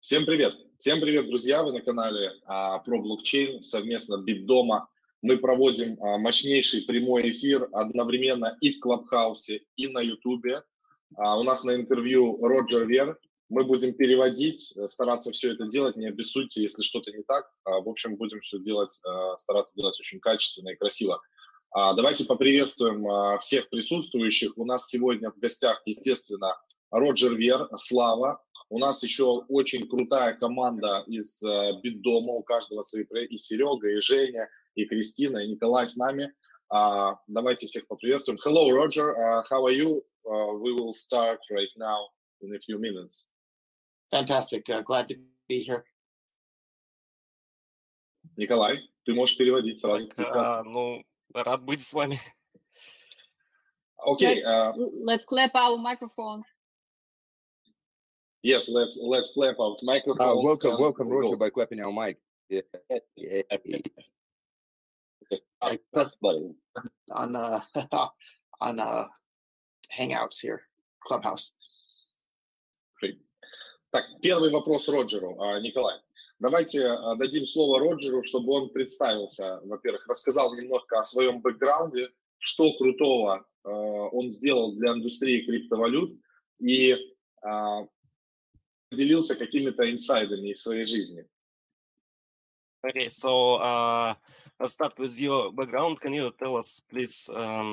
Всем привет! Всем привет, друзья! Вы на канале про блокчейн совместно Битдома. Мы проводим мощнейший прямой эфир одновременно и в Клабхаусе, и на Ютубе. У нас на интервью Роджер Вер. Мы будем переводить, стараться все это делать, не обессудьте, если что-то не так. В общем, будем все делать, стараться делать очень качественно и красиво. Давайте поприветствуем всех присутствующих. У нас сегодня в гостях, естественно, Роджер Вер, Слава. У нас еще очень крутая команда из Битдома, у каждого свои проекты, и Серега, и Женя, и Кристина, и Николай с нами. Давайте всех поприветствуем. Hello, Roger. How are you? We will start right now in a few minutes. Fantastic. Glad to be here. Николай, ты можешь переводить сразу. Рад быть с вами. Okay. Let's clap our microphones. Yes, let's clap our microphones. Welcome, Roger, by clapping our mic. Yeah. On Hangouts here, Clubhouse. Great. Так, первый вопрос Роджеру. Николай, давайте дадим слово Роджеру, чтобы он представился. Во-первых, рассказал немножко о своем бэкграунде, что крутого он сделал для индустрии криптовалют и поделился какими-то инсайдами из своей жизни. Okay, so let's start with your background. Can you tell us, please,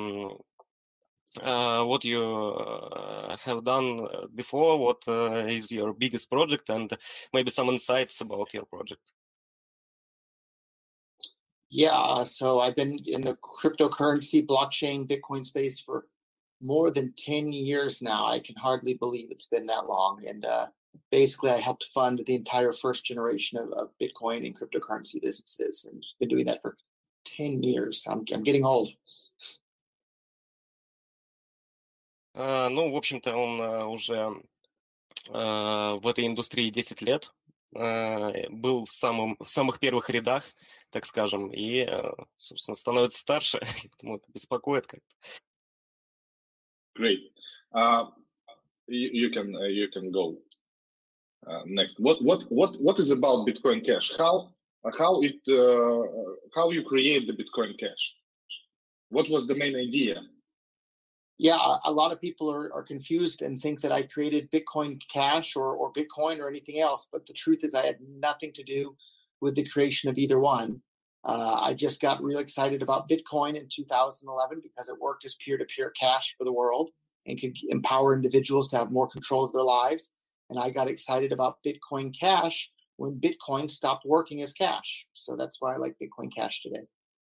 what you have done before? What is your biggest project, and maybe some insights about your project? Yeah, so I've been in the cryptocurrency, blockchain, Bitcoin space for more than 10 years now. I can hardly believe it's been that long. And basically, I helped fund the entire first generation of Bitcoin and cryptocurrency businesses, and been doing that for 10 years. I'm getting old. В общем-то, он уже в этой индустрии 10 лет, был в самых первых рядах, так скажем, и, собственно, становится старше, поэтому это беспокоит как-то. Great. You can go next. What is about Bitcoin Cash? How you create the Bitcoin Cash? What was the main idea? Yeah, a lot of people are confused and think that I created Bitcoin Cash or Bitcoin or anything else, but the truth is I had nothing to do with the creation of either one. I just got real excited about Bitcoin in 2011 because it worked as peer-to-peer cash for the world and could empower individuals to have more control of their lives. And I got excited about Bitcoin Cash when Bitcoin stopped working as cash. So that's why I like Bitcoin Cash today.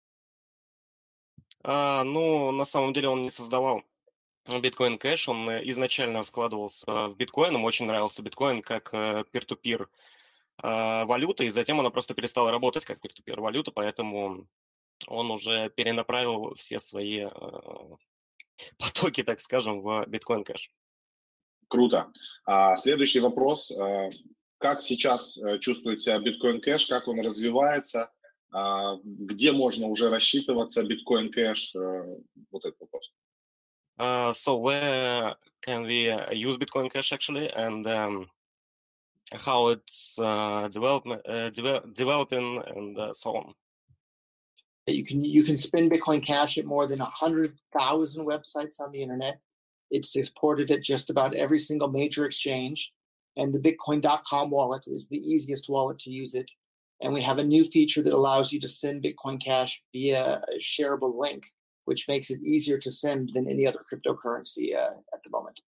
На самом деле он не создавал Bitcoin Cash, он изначально вкладывался в биткоин, ему очень нравился биткоин как peer-to-peer валюта, и затем она просто перестала работать как peer-to-peer валюта, поэтому он уже перенаправил все свои потоки, так скажем, в Bitcoin Cash. Круто. Следующий вопрос. Как сейчас чувствует себя Bitcoin Cash, как он развивается, где можно уже рассчитываться Bitcoin Cash? Вот этот вопрос. So where can we use Bitcoin Cash actually, and how it's developing and so on? You can spend Bitcoin Cash at more than 100,000 websites on the internet. It's supported at just about every single major exchange, and the Bitcoin.com wallet is the easiest wallet to use it. And we have a new feature that allows you to send Bitcoin Cash via a shareable link, which makes it easier to send than any other cryptocurrency at the moment.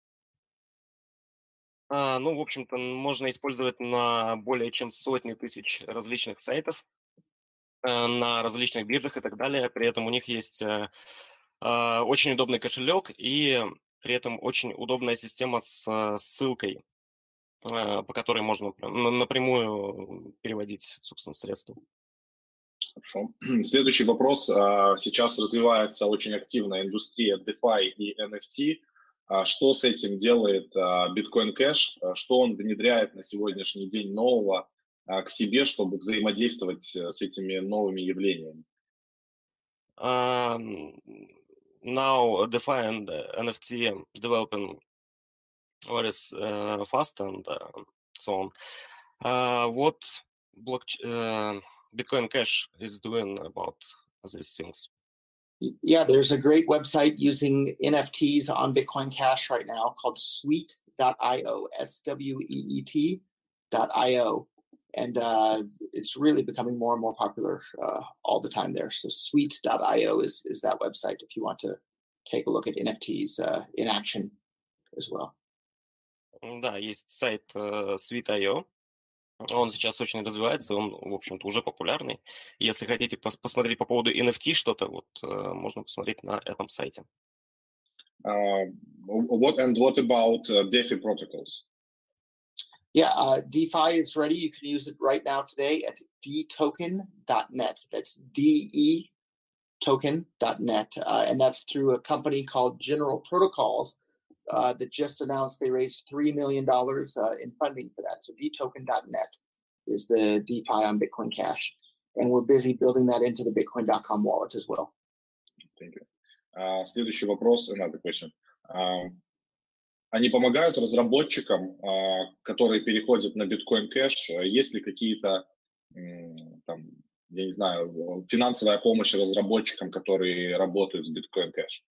В общем-то, можно использовать на более чем сотни тысяч различных сайтов, на различных биржах и так далее. При этом у них есть очень удобный кошелек и при этом очень удобная система с ссылкой, по которой можно напрямую переводить, собственно, средства. Хорошо. Следующий вопрос. Сейчас развивается очень активная индустрия DeFi и NFT. Что с этим делает Bitcoin Cash? Что он внедряет на сегодняшний день нового к себе, чтобы взаимодействовать с этими новыми явлениями? Now DeFi and NFT developing very fast and so on. What Bitcoin Cash is doing about these things? Yeah, there's a great website using NFTs on Bitcoin Cash right now called Sweet.io, SWEET.io. And it's really becoming more and more popular all the time there. So Sweet.io is that website if you want to take a look at NFTs in action as well. Да, есть сайт Sweet.io. Он сейчас очень развивается, он, в общем-то, уже популярный. Если хотите посмотреть по поводу NFT что-то, вот можно посмотреть на этом сайте. What about DeFi protocols? Yeah, DeFi is ready. You can use it right now today at dtoken.net. That's DEtoken.net. And that's through a company called General Protocols that just announced they raised $3 million in funding for that. So dtoken.net is the DeFi on Bitcoin Cash. And we're busy building that into the Bitcoin.com wallet as well. Thank you. Следующий вопрос, another question. Они помогают разработчикам, которые переходят на Bitcoin Cash? Есть ли какие-то, там, я не знаю, финансовая помощь разработчикам, которые работают с Bitcoin Cash?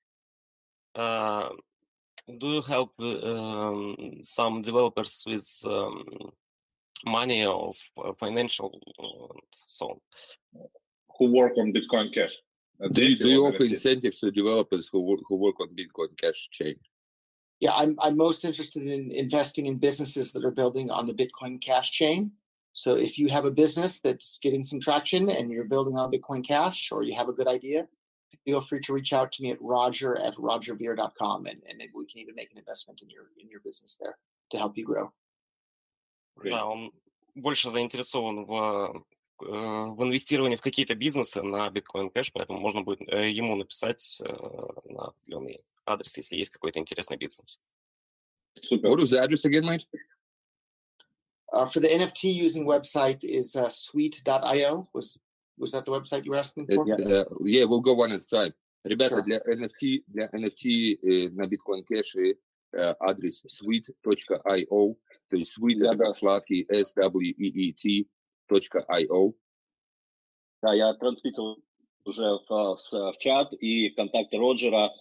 Do you help some developers with money or financial so on? Who work on Bitcoin Cash? Do you offer incentives to developers who work on Bitcoin Cash chain? Yeah, I'm most interested in investing in businesses that are building on the Bitcoin Cash chain. So if you have a business that's getting some traction and you're building on Bitcoin Cash, or you have a good idea, feel free to reach out to me at roger@rogerbeer.com, and maybe we can even make an investment in your business there to help you grow. Да, он больше заинтересован в инвестировании в какие-то бизнесы на Bitcoin Cash, поэтому можно будет ему написать на определенный адрес, если есть какой-то интересный бизнес. Super. What was the address again, Mike? For the NFT using website is sweet.io. Was that the website you were asking for? Yeah, we'll go one at a time. Ребята, Sure. для NFT на Bitcoin Cash адрес sweet.io, то есть sweet это как сладкий, SWEET.io. Да, я транслировал уже в чат и контакты Роджера,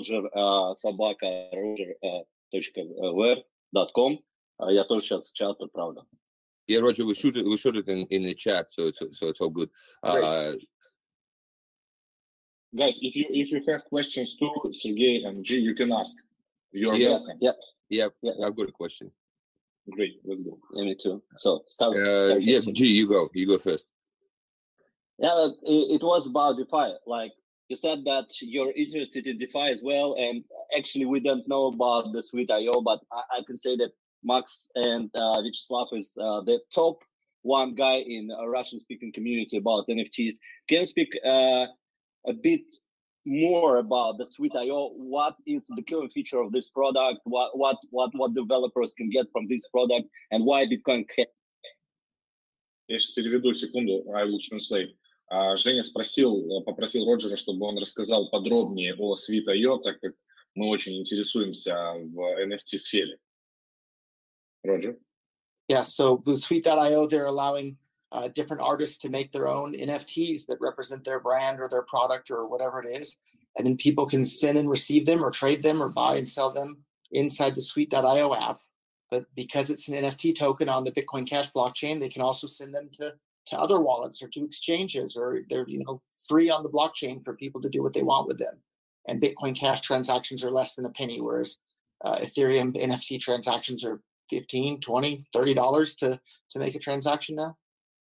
roger.ver.com. Я тоже сейчас в чат отправлю. Yeah, Roger, we shoot it in the chat, so it's all good. Guys, if you have questions too, Sergey and G, you can ask. You're welcome. Yeah, I've got a question. Great, let's go. Yeah, me too. So start. Yeah, G, you go first. Yeah, it was about DeFi. Like you said that you're interested in DeFi as well, and actually we don't know about the Sweet.io, but I can say that Max and Vyacheslav is the top one guy in a Russian-speaking community about NFTs. Can you speak a bit more about the Sweet.io? What is the killer feature of this product? What developers can get from this product, and why Bitcoin Cash? Я сейчас переведу секунду. I will translate. Женя попросил Роджера, чтобы он рассказал подробнее о Sweet.io, так как мы очень интересуемся в NFT-сфере. Roger? Yeah, so with Sweet.io, they're allowing different artists to make their own NFTs that represent their brand or their product or whatever it is. And then people can send and receive them or trade them or buy and sell them inside the Sweet.io app. But because it's an NFT token on the Bitcoin Cash blockchain, they can also send them to other wallets or to exchanges, or they're free on the blockchain for people to do what they want with them. And Bitcoin Cash transactions are less than a penny, whereas Ethereum NFT transactions are $15, $20, $30 to make a transaction now.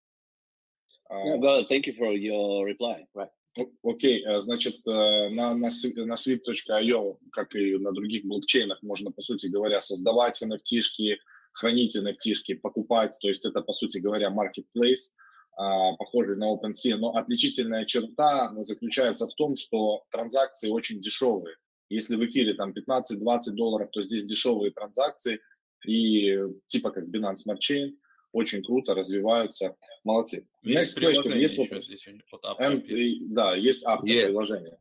Thank you for your reply. Right. Окей, значит, на Sweet.io, как и на других блокчейнах, можно, по сути говоря, создавать NFT-шки, хранить NFT-шки, покупать, то есть это, по сути говоря, marketplace, похожий на OpenSea, но отличительная черта заключается в том, что транзакции очень дешевые. Если в эфире там $15-20, то здесь дешевые транзакции, и типа как Binance Smart Chain, очень круто развиваются, молодцы. Есть приложение еще здесь. Да, есть приложение.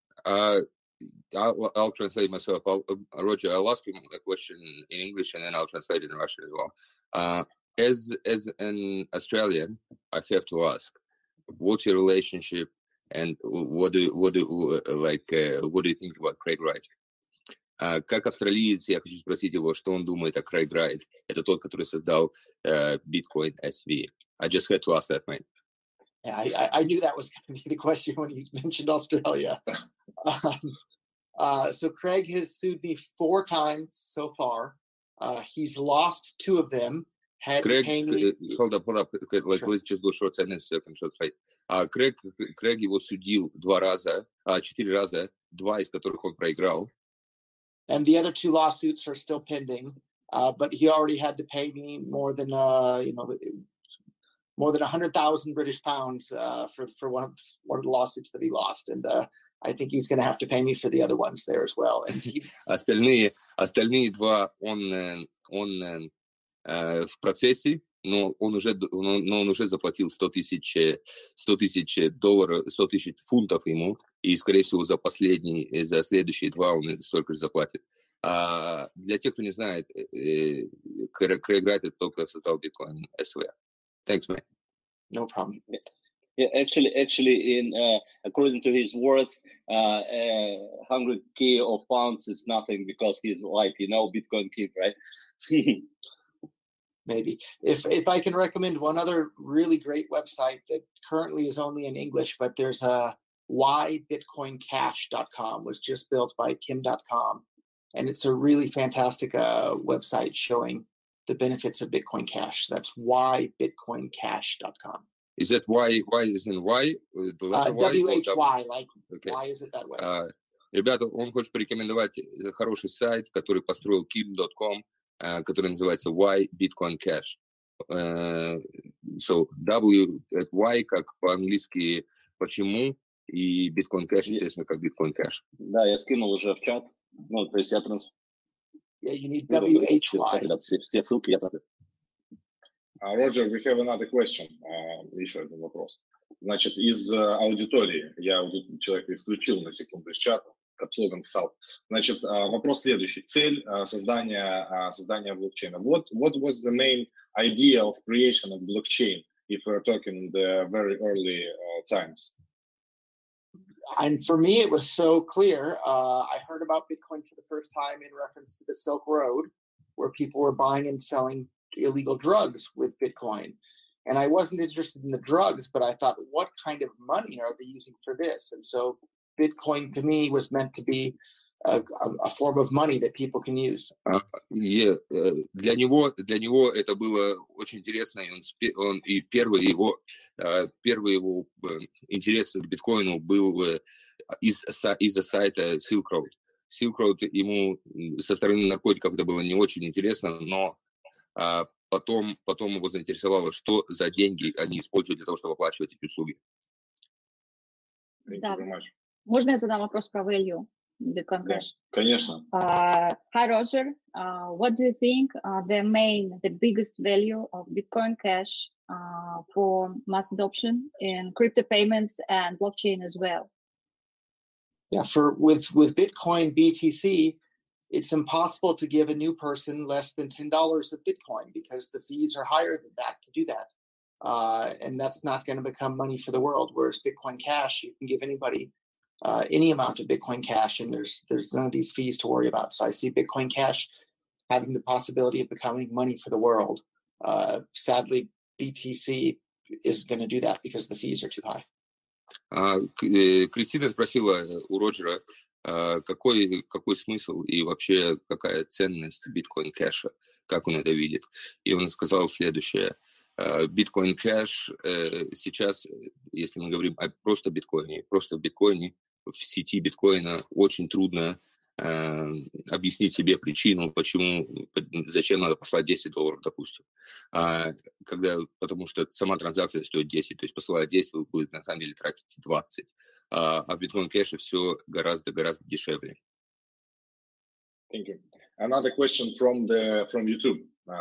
I'll translate myself. Roger, I'll ask you a question in English and then I'll translate it in Russian as well. as an Australian, I have to ask, what's your relationship and what do you think about Craig Wright? Как австралиец, я хочу спросить его, что он думает о Craig Wright. Это тот, который создал Bitcoin SV. I just had to ask that, mate. Yeah, I knew that was going to be the question when you mentioned Australia. So Craig has sued me 4 times so far. He's lost 2 of them. Craig, hold up. Like, sure. Let's just go short sentence. Craig его судил 4 раза, 2 из которых он проиграл. And the other 2 lawsuits are still pending. But he already had to pay me more than more than 100,000 British pounds for one of the lawsuits that he lost, and I think he's going to have to pay me for the other ones there as well. And остальные 2 он в процессе, но он уже заплатил $100,000 фунтов ему, и, скорее всего, за следующие 2 он столько же заплатит. Для тех, кто не знает, Craig Wright — это тот, кто создал Bitcoin SV. Thanks, man. No problem. Yeah, actually, in according to his words, 100K of pounds is nothing because he's like, Bitcoin king, right? Maybe. If I can recommend one other really great website that currently is only in English, but there's a whybitcoincash.com, was just built by Kim.com, and it's a really fantastic website showing the benefits of Bitcoin Cash. That's whybitcoincash.com. Is that why is in why? WHY, like, okay. Why is it that way? Ребята, он хочет порекомендовать хороший сайт, который построил Kim.com, который называется Why Bitcoin Cash. So why как по-английски почему, и Bitcoin Cash, естественно, как Bitcoin Cash. Да, я скинул уже в чат. Ну, то есть я Yeah, you need WHY. Все ссылки я просто. Roger, we have another question. Еще один вопрос. Значит, из аудитории, я человека исключил на секунду из чата, капслогом писал. Значит, вопрос следующий. Цель создания блокчейна. What was the main idea of creation of blockchain, if we're talking the very early times? And for me, it was so clear. I heard about Bitcoin for the first time in reference to the Silk Road, where people were buying and selling illegal drugs with Bitcoin. And I wasn't interested in the drugs, but I thought, what kind of money are they using for this? And so Bitcoin to me was meant to be a form of money that people can use. Для него это было очень интересно, и первый его интерес к биткоину был из-за сайта Silk Road. Silk Road ему со стороны наркотиков это было не очень интересно, но потом его заинтересовало, что за деньги они используют для того, чтобы оплачивать эти услуги. Да. Можно я задам вопрос про value Bitcoin Cash? Конечно. Hi, Roger. What do you think the biggest value of Bitcoin Cash for mass adoption in crypto payments and blockchain as well? Yeah, with Bitcoin BTC, it's impossible to give a new person less than $10 of Bitcoin because the fees are higher than that to do that. And that's not going to become money for the world. Whereas Bitcoin Cash, you can give anybody any amount of Bitcoin Cash, and there's none of these fees to worry about. So I see Bitcoin Cash having the possibility of becoming money for the world. Sadly, BTC isn't going to do that because the fees are too high. Кристина спросила у Роджера, какой смысл и вообще какая ценность биткоин кэша, как он это видит. И он сказал следующее. Биткоин кэш сейчас, если мы говорим просто в биткоине, в сети биткоина очень трудно объяснить себе причину, зачем надо послать $10, допустим. Потому что сама транзакция стоит 10, то есть посылая 10, вы будете на самом деле тратить 20. А в биткоин кэше все гораздо дешевле. Thank you. Another question from YouTube.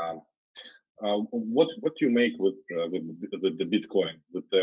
What you make with the Bitcoin,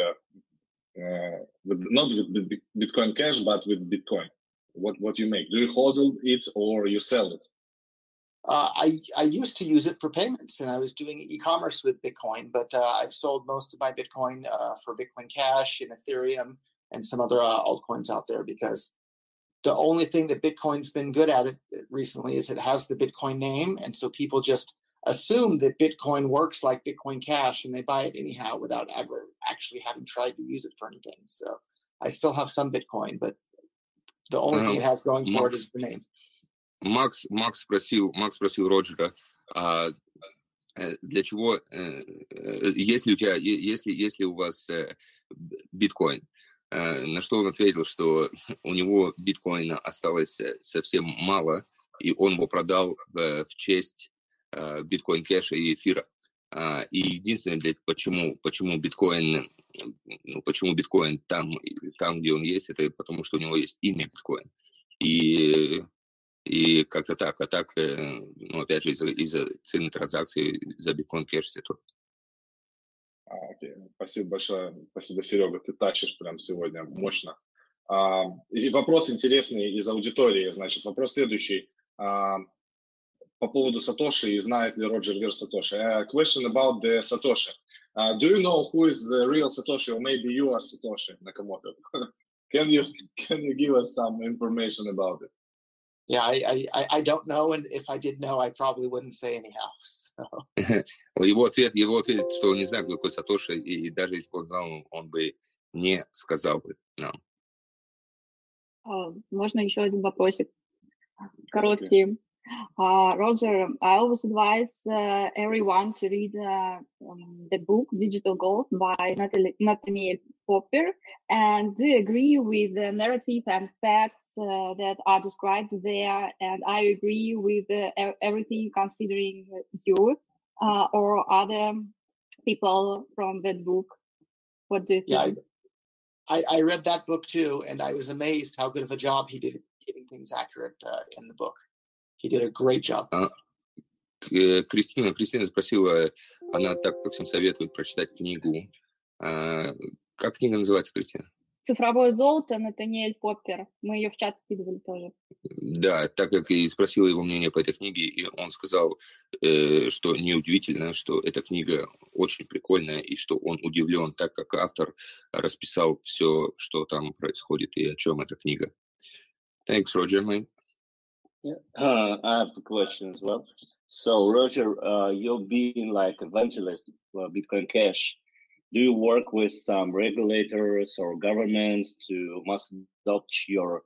not with Bitcoin Cash, but with Bitcoin? What you make? Do you hodl it or you sell it? I used to use it for payments, and I was doing e-commerce with Bitcoin, but I've sold most of my Bitcoin for Bitcoin Cash and Ethereum and some other altcoins out there, because the only thing that Bitcoin's been good at it recently is it has the Bitcoin name, and so people just assume that Bitcoin works like Bitcoin Cash, and they buy it anyhow without ever actually having tried to use it for anything. So I still have some Bitcoin, but the only thing it has going for it is the name. Макс спросил Роджера, для чего, если у вас биткоин, на что он ответил, что у него биткоина осталось совсем мало, и он его продал в честь биткоин кэша и эфира. И единственное, почему биткоин там, где он есть, это потому что у него есть имя биткоин. И как-то так, опять же, из-за цены транзакций за биткоин кэш все тут. Окей. Спасибо большое. Спасибо, Серега. Ты тащишь прям сегодня мощно. И вопрос интересный из аудитории. Значит, вопрос следующий. По поводу Сатоши, и знает ли Роджер Вир Сатоши. A question about the Satoshi. Do you know who is the real Satoshi, or maybe you are Satoshi Nakamoto? Can you give us some information about it? Yeah, I don't know, and if I did know, I probably wouldn't say anyhow. So. Его ответ, что он не знает, кто такой Сатоши, и даже если бы он знал, он бы не сказал бы нам. Можно еще один вопросик? Короткий. Roger, I always advise everyone to read the book Digital Gold by Nathaniel Popper. And do you agree with the narrative and facts that are described there? And I agree with everything, considering you or other people from that book. What do you think? Yeah, I read that book too, and I was amazed how good of a job he did getting things accurate in the book. He did a great job. Кристина спросила, она так как всем советует прочитать книгу. Как книга называется, Кристина? «Цифровое золото», Натаниэль Поппер. Мы ее в чат скидывали тоже. Да, так как и спросила его мнение по этой книге, и он сказал, что неудивительно, что эта книга очень прикольная, и что он удивлен, так как автор расписал все, что там происходит, и о чем эта книга. Thanks, Roger, man. Yeah. I have a question as well. So, Roger, you've been like evangelist for Bitcoin Cash. Do you work with some regulators or governments to must adopt your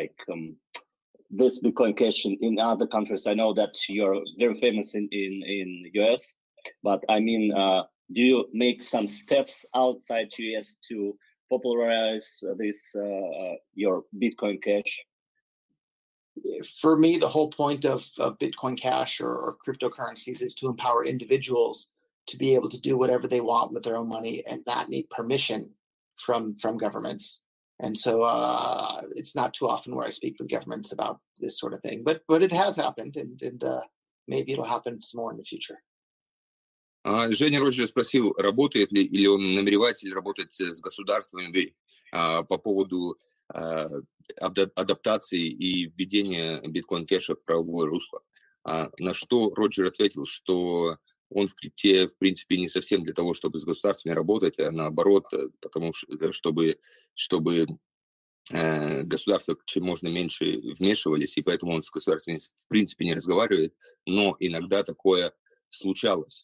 this Bitcoin Cash in other countries? I know that you're very famous in US, but I mean, do you make some steps outside US to popularize this your Bitcoin Cash? For me, the whole point of Bitcoin Cash or cryptocurrencies is to empower individuals to be able to do whatever they want with their own money and not need permission from governments. And so it's not too often where I speak with governments about this sort of thing, but it has happened, and maybe it'll happen some more in the future. Женя Роджер спросил, работает ли или он намеревается ли работать с государствами по поводу адаптации и введения биткоин-кэша в правовое русло. На что Роджер ответил, что он в крипте, в принципе, не совсем для того, чтобы с государствами работать, а наоборот, потому что, чтобы государства чем можно меньше вмешивались, и поэтому он с государствами, в принципе, не разговаривает, но иногда такое случалось.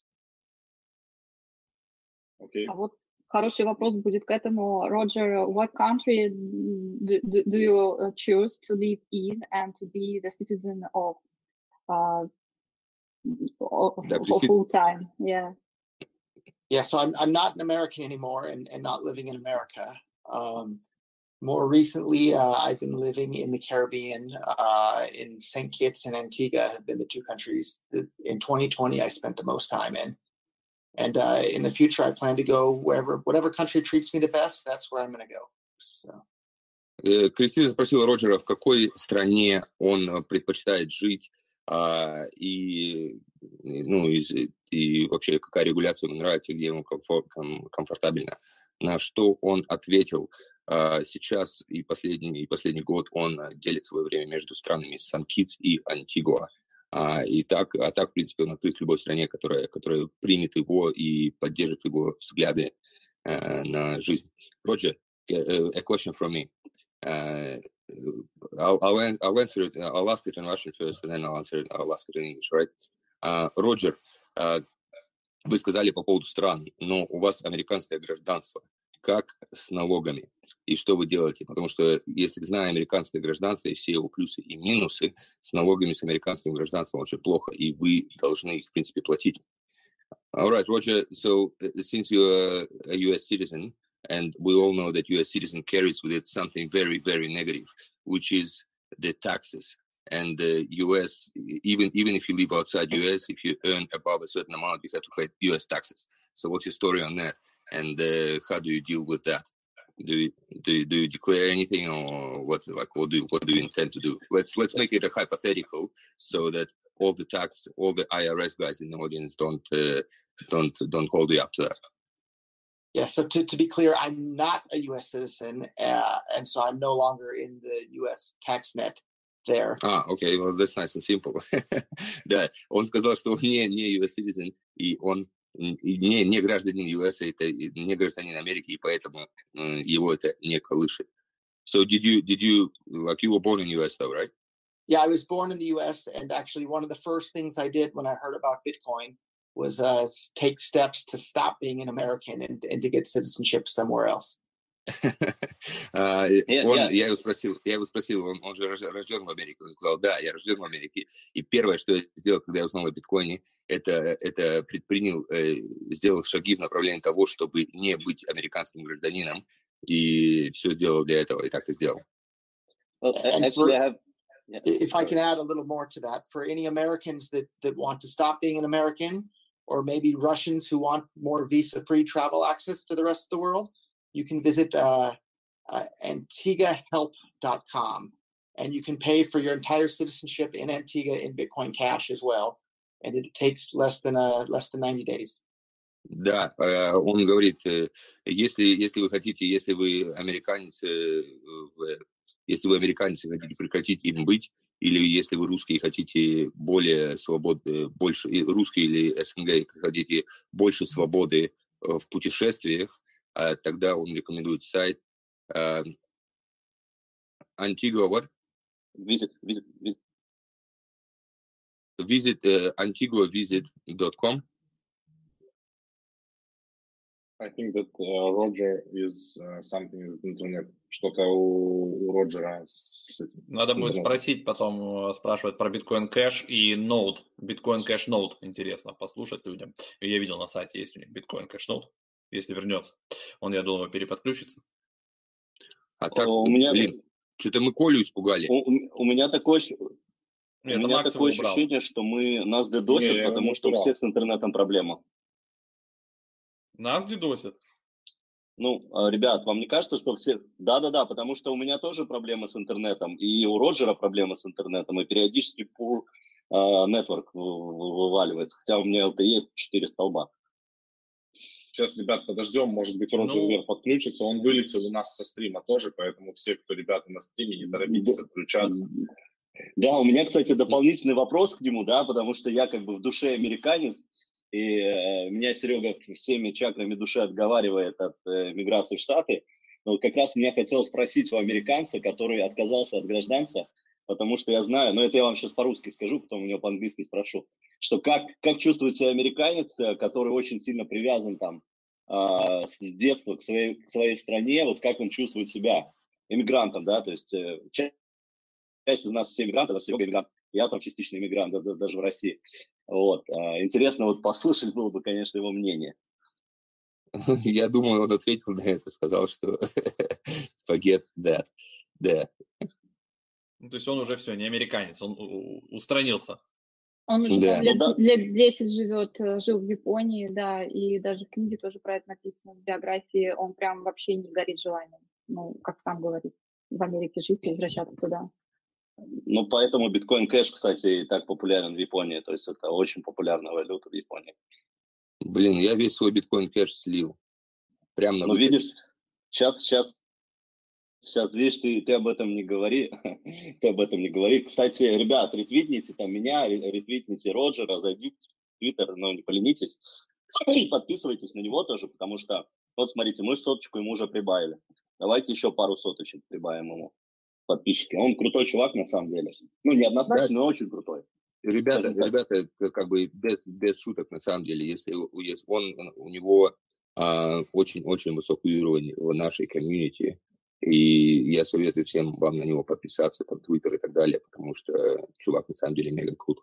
Okay. А вот хороший вопрос будет к этому. Roger, what country do you choose to live in and to be the citizen of full time? Yeah. Yeah, so I'm not an American anymore and not living in America. More recently, I've been living in the Caribbean, in St. Kitts and Antigua have been the two countries that in 2020 I spent the most time in. And in the future, I plan to go whatever country treats me the best, that's where I'm going to go. So. Кристина спросила Роджера, в какой стране он предпочитает жить, и вообще какая регуляция ему нравится, где ему комфортабельно. На что он ответил, сейчас и последний год он делит свое время между странами Сан-Китс и Антигуа. И так, в принципе, он открыт в любой стране, которая примет его и поддержит его взгляды на жизнь. Roger, a question from me. I'll answer it. I'll ask it in Russian first, and then I'll ask it in English, right? Roger, вы сказали по поводу стран, но у вас американское гражданство. Как с налогами? И что вы делаете? Потому что, если зная американское гражданство и все его плюсы и минусы, с налогами, с американским гражданством очень плохо, и вы должны их, в принципе, платить. All right, Roger, so since you're a U.S. citizen, and we all know that U.S. citizen carries with it something very, very negative, which is the taxes. And the U.S., even if you live outside U.S., if you earn above a certain amount, you have to pay U.S. taxes. So what's your story on that? And how do you deal with that? Do you declare anything, or what do you intend to do? Let's make it a hypothetical, so that all the IRS guys in the audience don't hold you up to that. Yeah, so to be clear, I'm not a U.S. citizen, and so I'm no longer in the U.S. tax net there. Okay, well, that's nice and simple. Да, он сказал, что он не U.S. citizen, и он не гражданин US, это не гражданин Америки, и поэтому его это не колышет. So did you like you were born in US though, right? Yeah, I was born in the US, and actually one of the first things I did when I heard about Bitcoin was take steps to stop being an American and to get citizenship somewhere else. Я его спросил, он же рожден в Америке. Он сказал, да, я рожден в Америке. И первое, что я сделал, когда я узнал о биткоине, это сделал шаги в направлении того, чтобы не быть американским гражданином. И все делал для этого, и так и сделал. If I can add a little more to that, for any Americans that want to stop being an American, or maybe Russians who want more visa-free travel access to the rest of the world, you can visit AntiguaHelp.com, and you can pay for your entire citizenship in Antigua in Bitcoin Cash as well, and it takes less than 90 days. Да, он говорит, если вы хотите, если вы американец и хотите прекратить им быть, или если вы русские и хотите более свободы, больше русские или СНГ хотите больше свободы в путешествиях, тогда он рекомендует сайт Antigua what? Visit AntiguaVisit.com. I think that Roger is something with internet. Что-то у Роджера с этим. Надо будет спросить, потом спрашивают про Bitcoin Cash и Node. Bitcoin Cash Node интересно послушать людям. Я видел на сайте, есть у них Bitcoin Cash Node, если вернется. Он, я думаю, переподключится. А так, блин, что-то мы Колю испугали. У меня такое ощущение, что нас дедосят, потому что у всех с интернетом проблема. Нас дедосят? Ребят, вам не кажется, что все... Да, потому что у меня тоже проблемы с интернетом, и у Роджера проблемы с интернетом, и периодически Poor Network вываливается, хотя у меня LTE 4 столба. Сейчас, ребят, подождем, может быть, Роджер подключится, он вылетел у нас со стрима тоже, поэтому все, кто ребята на стриме, не торопитесь отключаться. Да, у меня, кстати, дополнительный вопрос к нему, да, потому что я как бы в душе американец, и меня Серега всеми чакрами души отговаривает от миграции в Штаты. Но как раз меня хотел спросить у американца, который отказался от гражданства, потому что я знаю, но это я вам сейчас по-русски скажу, потом у него по-английски спрошу, что как чувствует себя американец, который очень сильно привязан там с детства к своей стране, вот как он чувствует себя иммигрантом, да, то есть часть из нас все иммигранты, а Серега иммигрант, я там частично иммигрант, даже в России. Вот. Интересно вот послушать было бы, конечно, его мнение. Я думаю, он ответил на это, сказал, что forget that. Да. То есть он уже все, не американец, он устранился. Он уже лет 10 жил в Японии, да, и даже в книге тоже про это написано, в биографии. Он прям вообще не горит желанием, как сам говорит, в Америке жить и возвращаться туда. Поэтому Bitcoin Cash, кстати, так популярен в Японии. То есть это очень популярная валюта в Японии. Блин, я весь свой Bitcoin Cash слил. Прям на видишь, сейчас Сейчас, видишь, ты об этом не говори. Ты об этом не говори. Кстати, ребят, ретвитните там меня, ретвитните Роджера, зайдите в Твиттер, но не поленитесь. И подписывайтесь на него тоже, потому что, вот смотрите, мы 100 ему уже прибавили. Давайте еще пару соточек прибавим ему подписчики. Он крутой чувак на самом деле. Ну, не однозначно, но очень крутой. Ребята, как бы без шуток, на самом деле, если у него очень-очень высокий уровень в нашей комьюнити, и я советую всем вам на него подписаться, там, Твиттер и так далее, потому что чувак на самом деле мега крут.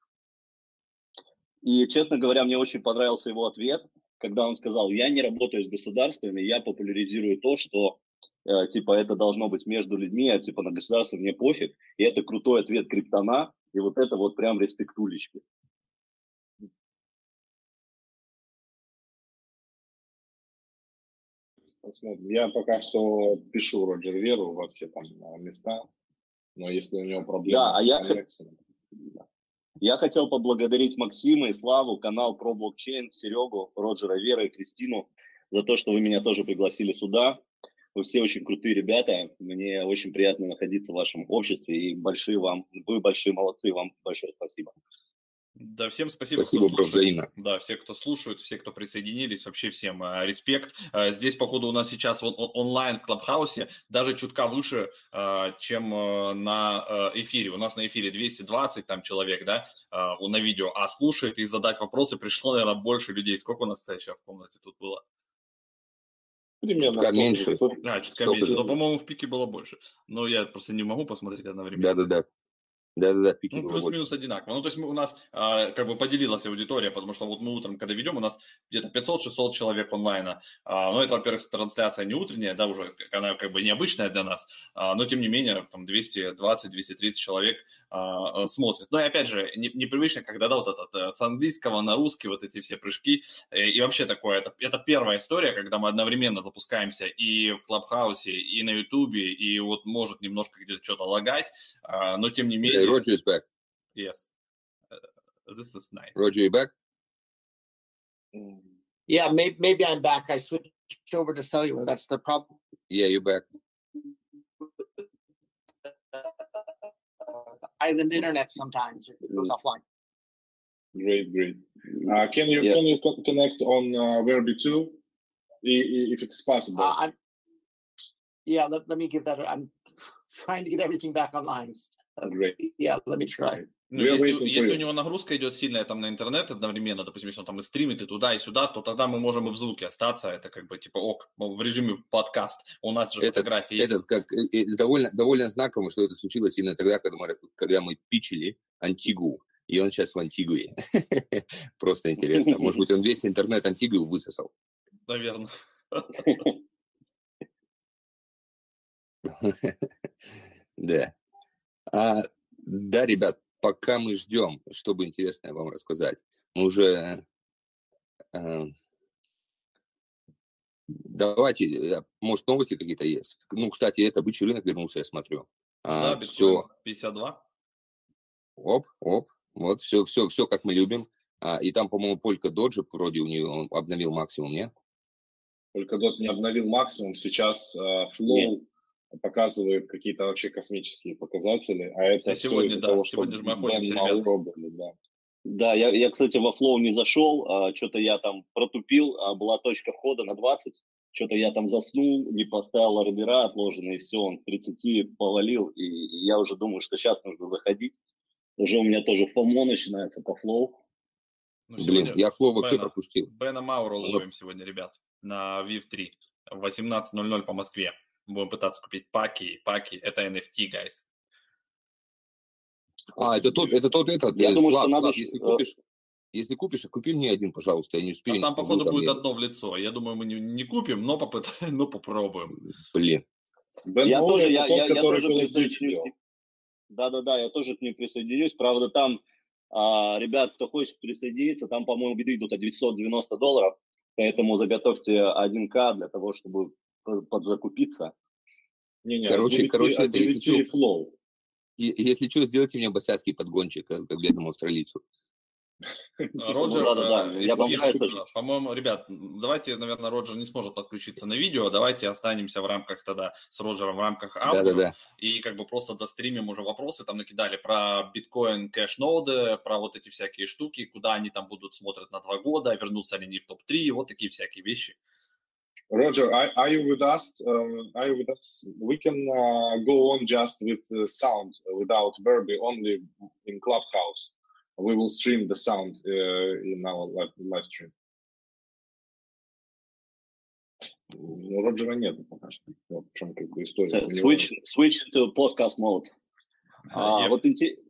И, честно говоря, мне очень понравился его ответ, когда он сказал: я не работаю с государствами, я популяризирую то, что типа это должно быть между людьми, а типа на государство мне пофиг. И это крутой ответ Криптона, и вот это вот прям респектулечки. Посмотрим. Я пока что пишу Роджер Веру во все там места, но если у него проблемы с коннекцией... Я хотел поблагодарить Максима и Славу, канал про блокчейн, Серегу, Роджера Вера и Кристину за то, что вы меня тоже пригласили сюда. Вы все очень крутые ребята. Мне очень приятно находиться в вашем обществе. И вы большие молодцы. Вам большое спасибо. Да, всем спасибо, кто слушает. взаимно. Да, все, кто слушают, все, кто присоединились, вообще всем респект. Здесь, походу, у нас сейчас онлайн в Клабхаусе даже чутка выше, чем на эфире. У нас на эфире 220 там человек, да, на видео, а слушает и задать вопросы пришло, наверное, больше людей. Сколько у нас сейчас в комнате тут было? Примерно чутка меньше. Чутка меньше. Но, по-моему, в пике было больше. Но я просто не могу посмотреть одновременно. Да, пики ну, плюс-минус одинаково. Ну, то есть у нас как бы поделилась аудитория, потому что вот мы утром, когда ведем, у нас где-то 500-600 человек онлайна. Но это, во-первых, трансляция не утренняя, да, уже она как бы необычная для нас, но тем не менее там 220-230 человек смотрят. Но и опять же, непривычно, когда, да, вот этот с английского на русский, вот эти все прыжки. И вообще такое, это первая история, когда мы одновременно запускаемся и в Клабхаусе, и на Ютубе, и вот может немножко где-то что-то лагать, но тем не менее... Roger is back. Yes. This is nice. Roger, you back? Yeah, maybe I'm back. I switched over to cellular. That's the problem. Yeah, you're back. Island internet sometimes it goes offline. Great. Can you connect on Verbi2 if it's possible? Let me give that. I'm trying to get everything back online. Great. Yeah, let me try. Ну, если у него нагрузка идет сильная там на интернет одновременно, допустим, если он там и стримит и туда, и сюда, то тогда мы можем и в звуке остаться. Это как бы типа в режиме подкаст. У нас же фотографии есть. Довольно знаково, что это случилось именно тогда, когда мы питчили Антигу. И он сейчас в Антигуе. Просто интересно. Может быть, он весь интернет Антигуи высосал. Наверное. Да. Да, ребят, пока мы ждем, чтобы интересное вам рассказать, мы уже... Давайте, может, новости какие-то есть? Ну, кстати, это бычий рынок вернулся, я смотрю. Да, биткоин 52. Оп. Вот, все как мы любим. И там, по-моему, Polkadot вроде у него обновил максимум, нет? Polkadot не обновил максимум. Сейчас Flow показывает какие-то вообще космические показатели. А это сегодня, да, того, сегодня же мы охотимся, ребята. Да, я, кстати, во Flow не зашел. Что-то я там протупил. Была точка входа на 20. Что-то я там заснул, не поставил ордера отложенные, и все, он к 30 повалил. И я уже думаю, что сейчас нужно заходить. Уже у меня тоже FOMO начинается по Flow. Блин, я Flow вообще пропустил. Бена Мауру ловим сегодня, ребят, на VIV3 в 18:00 по Москве. Будем пытаться купить паки. Это NFT, guys. Это тот этот. Я думаю, Слав, что надо... Если купишь, купи мне один, пожалуйста, я не успею. Там, походу, будет одно в лицо. Я думаю, мы не купим, но попробуем. Блин. Я тоже присоединюсь. Да, я тоже к ним присоединюсь. Правда, там, ребят, кто хочет присоединиться, там, по-моему, биды идут от $990, поэтому заготовьте 1К для того, чтобы подзакупиться. Короче, это если Flow. Если что, сделайте мне босяцкий подгончик, как бедному австралийцу. Роджер, я по-моему, ребят, давайте, наверное, Роджер не сможет подключиться на видео, давайте останемся в рамках тогда с Роджером в рамках аудио, Да. И как бы просто достримим уже вопросы, там накидали про биткоин кэш-ноды, про вот эти всякие штуки, куда они там будут смотреть на 2 года, вернутся ли они в топ-3, вот такие всякие вещи. Roger, are you with us? We can go on just with sound, without Verbi, only in Clubhouse. We will stream the sound in our live stream. Ну, Роджера нет пока что. Вот в чем как бы история. Switch to podcast mode. Вот интересно.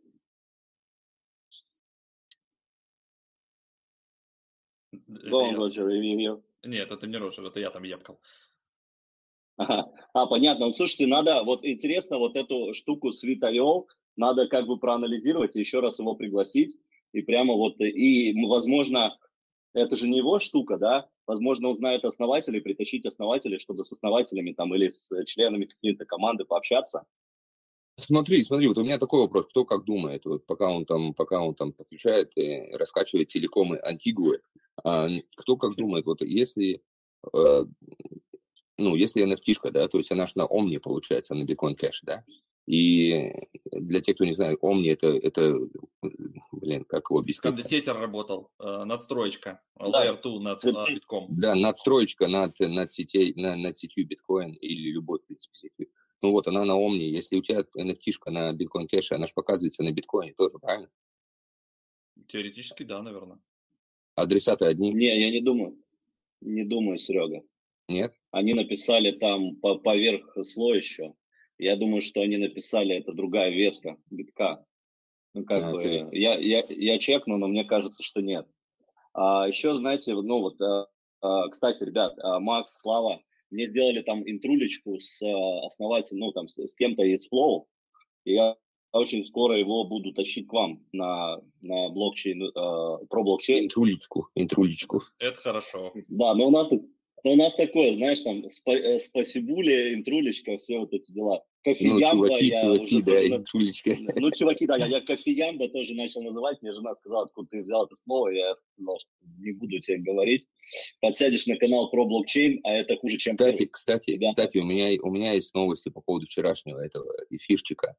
Go on, Roger, review. Нет, это не Роджер, это я там епкал. Понятно. Ну, слушайте, надо, вот интересно, вот эту штуку с Sweet.io надо как бы проанализировать и еще раз его пригласить. И прямо вот, и, возможно, это же не его штука, да? Возможно, он знает основателей, притащить основателей, чтобы с основателями там или с членами какой-то команды пообщаться. Смотри, вот у меня такой вопрос, кто как думает, вот пока он там подключает и раскачивает телекомы Антигуы, кто как думает, вот если NFT-шка, да, то есть она же на Omni получается, на Bitcoin Cash, да, и для тех, кто не знает, Omni это как его объяснить? Кондитер работал, надстроечка, Layer 2 над битком. Да, надстроечка над сетью биткоин или любой, в принципе, сетью. Ну вот, она на Omni, если у тебя NFT-шка на Bitcoin Cash, она же показывается на биткоине тоже, правильно? Теоретически, да, наверное. Адреса-то одни? Не, я не думаю. Не думаю, Серега. Нет? Они написали там поверх слоя еще. Я думаю, что они написали, это другая ветка битка. Ну, как бы, я чекну, но мне кажется, что нет. Еще, знаете, кстати, ребят, Макс, Слава, мне сделали там интрулечку с основателем, там, с кем-то из Flow, и я очень скоро его буду тащить к вам на блокчейн, про блокчейн. Интрулечку. Это хорошо. Да, но у нас такое, знаешь, там, спасибули, интрулечка, все вот эти дела. Кофеямба, чуваки, да, интрулечка. Ну, чуваки, да, я кофеямба тоже начал называть, мне жена сказала, откуда ты взял это слово, я сказал, что не буду тебе говорить. Подсядешь на канал про блокчейн, а это хуже, чем... Кстати, у меня есть новости по поводу вчерашнего этого эфирчика.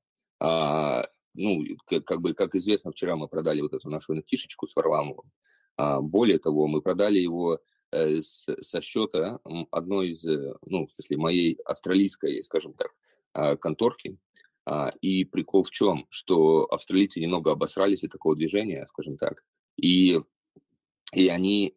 Как известно, вчера мы продали вот эту нашу NFT-шечку с Варламовым. Более того, мы продали его со счета одной из, в смысле, моей австралийской, скажем так, конторки. И прикол в чем? Что австралийцы немного обосрались от такого движения, скажем так. И они,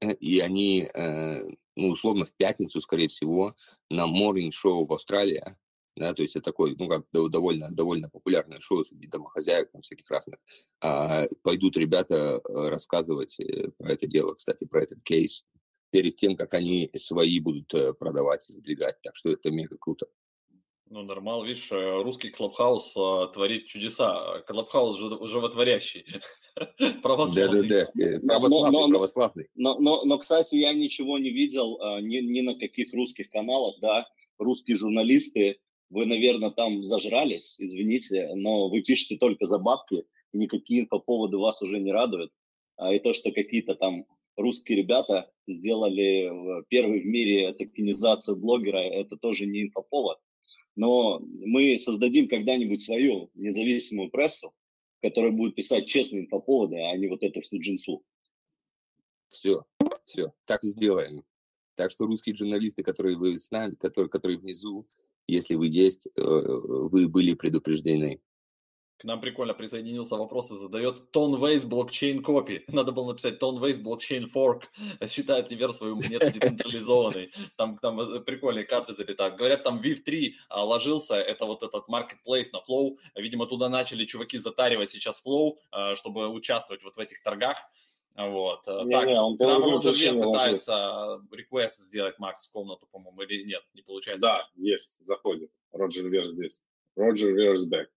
условно, в пятницу, скорее всего, на Morning Show в Австралии, да, то есть это такое, довольно популярное шоу среди домохозяек, там всяких разных, пойдут ребята рассказывать про это дело, кстати, про этот кейс, перед тем, как они свои будут продавать и задвигать, так что это мега круто. Ну, нормально, видишь, русский Клабхаус творит чудеса, Клабхаус животворящий, православный. Да, православный. Но, кстати, я ничего не видел ни на каких русских каналах, да, русские журналисты, вы, наверное, там зажрались, извините, но вы пишете только за бабки, и никакие инфоповоды вас уже не радуют. И то, что какие-то там русские ребята сделали первый в мире токенизацию блогера, это тоже не инфоповод. Но мы создадим когда-нибудь свою независимую прессу, которая будет писать честные инфоповоды, а не вот эту всю джинсу. Все, так и сделаем. Так что русские журналисты, которые вы с нами, которые внизу, если вы есть, вы были предупреждены. К нам прикольно присоединился, вопросы задает Tonways Blockchain Copy. Надо было написать Tonways Blockchain Fork. Считает ливер свою монету децентрализованной. Там прикольные карты залетают. Говорят, там VIV3 ложился. Это вот этот marketplace на Flow. Видимо, туда начали чуваки затаривать сейчас Flow, чтобы участвовать вот в этих торгах. Вот. Он нам Роджер Вер пытается реквест сделать, Макс, в комнату, по-моему, или нет, не получается? Да, есть, заходит. Роджер Вер здесь. Роджер Вер is back.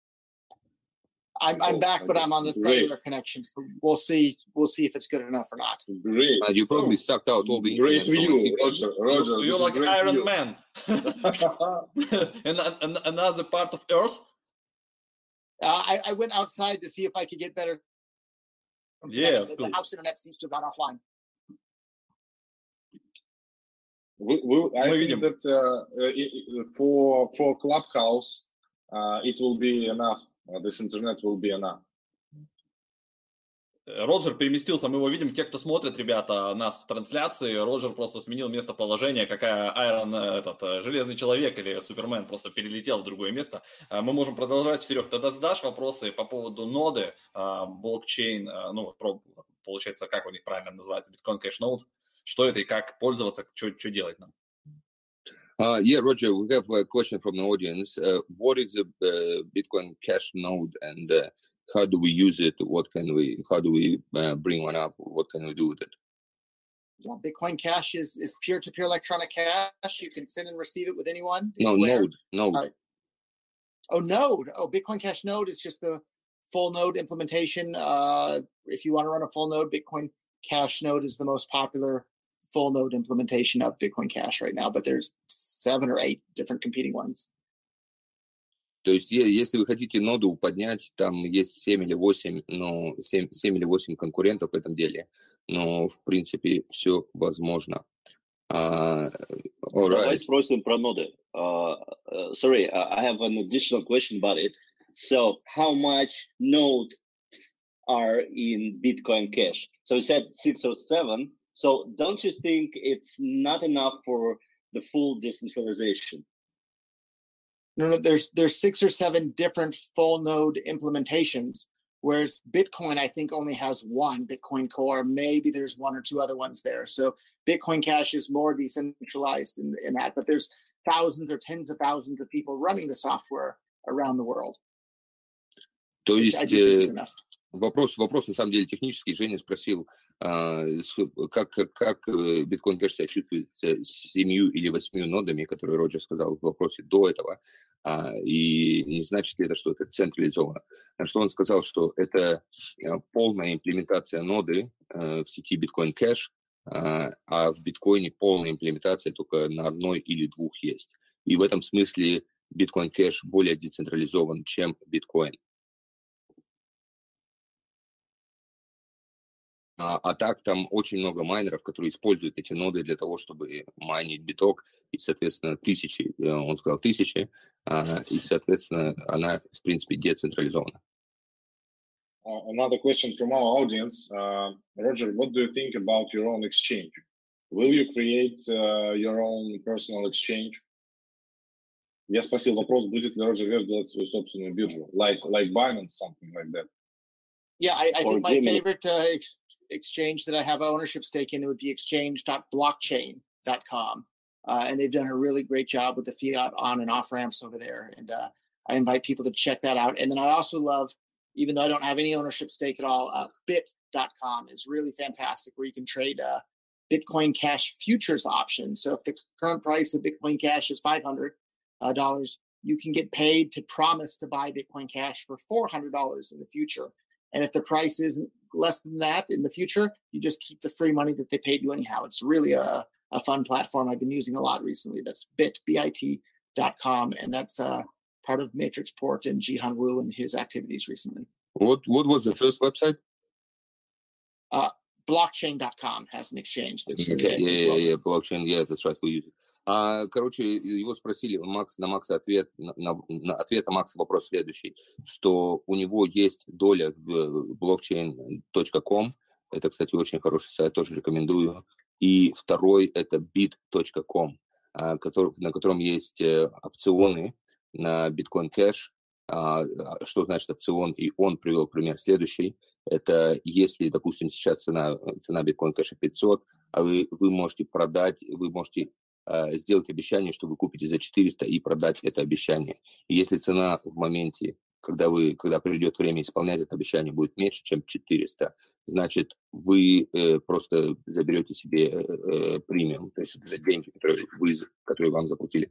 I'm back, but I'm on the cellular connection, so we'll see if it's good enough or not. Great. You probably sucked out all the great view, Roger. You're like Iron Man. And another part of Earth? I went outside to see if I could get better Yeah, connection. The cool. house internet seems to have gone offline. I think that for Clubhouse, it will be enough. This internet will be enough. Роджер переместился, мы его видим, те, кто смотрит, ребята, нас в трансляции, Роджер просто сменил местоположение, какая Железный Человек или Супермен просто перелетел в другое место. Мы можем продолжать, Серег, тогда задашь вопросы по поводу ноды, блокчейн, получается, как у них правильно называется, Bitcoin Cash Node, что это и как пользоваться, что делать нам? Yeah, Roger, we have a question from the audience. What is a Bitcoin Cash Node and how do we use it? How do we bring one up? What can we do with it? Yeah, Bitcoin Cash is peer-to-peer electronic cash. You can send and receive it with anyone. No, Node. Node. Bitcoin Cash Node is just the full node implementation. If you want to run a full node, Bitcoin Cash Node is the most popular full node implementation of Bitcoin Cash right now, but there's 7 or 8 different competing ones. То есть, если вы хотите ноду поднять, там есть 7 или 8 конкурентов в этом деле, но, в принципе, все возможно. Давай спросим про ноды. Sorry, I have an additional question about it. So, how much nodes are in Bitcoin Cash? So, you said 6 or 7. So, don't you think it's not enough for the full decentralization? No, there's 6 or 7 different full node implementations, whereas Bitcoin, I think, only has one, Bitcoin Core. Maybe there's 1 or 2 other ones there. So Bitcoin Cash is more decentralized in that, but there's thousands or tens of thousands of people running the software around the world. То есть вопрос на самом деле технический. Женя спросил, как Bitcoin Cash себя чувствует с 7 или 8 нодами, которые Роджер сказал в вопросе до этого, и не значит ли это, что это централизовано. На что он сказал, что это полная имплементация ноды в сети Bitcoin Cash, а в биткоине полная имплементация только на 1 или 2 есть. И в этом смысле Bitcoin Cash более децентрализован, чем биткоин. А так там очень много майнеров, которые используют эти ноды для того, чтобы майнить биток, и, соответственно, он сказал тысячи, и, соответственно, она, в принципе, децентрализована. Another question from our audience. Roger, what do you think about your own exchange? Will you create your own personal exchange? Я спросил вопрос, будет ли Роджер Ver делать свою собственную биржу, like Binance, something like that. Yeah, I think my favorite exchange that I have ownership stake in, it would be exchange.blockchain.com. And they've done a really great job with the fiat on and off ramps over there. And I invite people to check that out. And then I also love, even though I don't have any ownership stake at all, bit.com is really fantastic, where you can trade Bitcoin Cash futures options. So if the current price of Bitcoin Cash is $500, you can get paid to promise to buy Bitcoin Cash for $400 in the future. And if the price isn't less than that in the future, you just keep the free money that they paid you anyhow. It's really a fun platform I've been using a lot recently. That's bit.com, and that's part of Matrixport and Jihan Wu and his activities recently. What was the first website? Blockchain.com has an exchange. That's blockchain, that's right, we use it. Короче, его спросили, на Макса ответ на Макса вопрос следующий, что у него есть доля в blockchain.com, это, кстати, очень хороший сайт, тоже рекомендую, и второй это bit.com, на котором есть опционы на Bitcoin Cash. Что значит опцион? И он привел пример следующий. Это если, допустим, сейчас цена Bitcoin Cash 500, а вы можете продать, вы можете сделать обещание, что вы купите за 400 и продать это обещание. И если цена в моменте, когда придет время исполнять это обещание, будет меньше, чем 400, значит, вы просто заберете себе премиум, то есть это деньги, которые вам заплатили.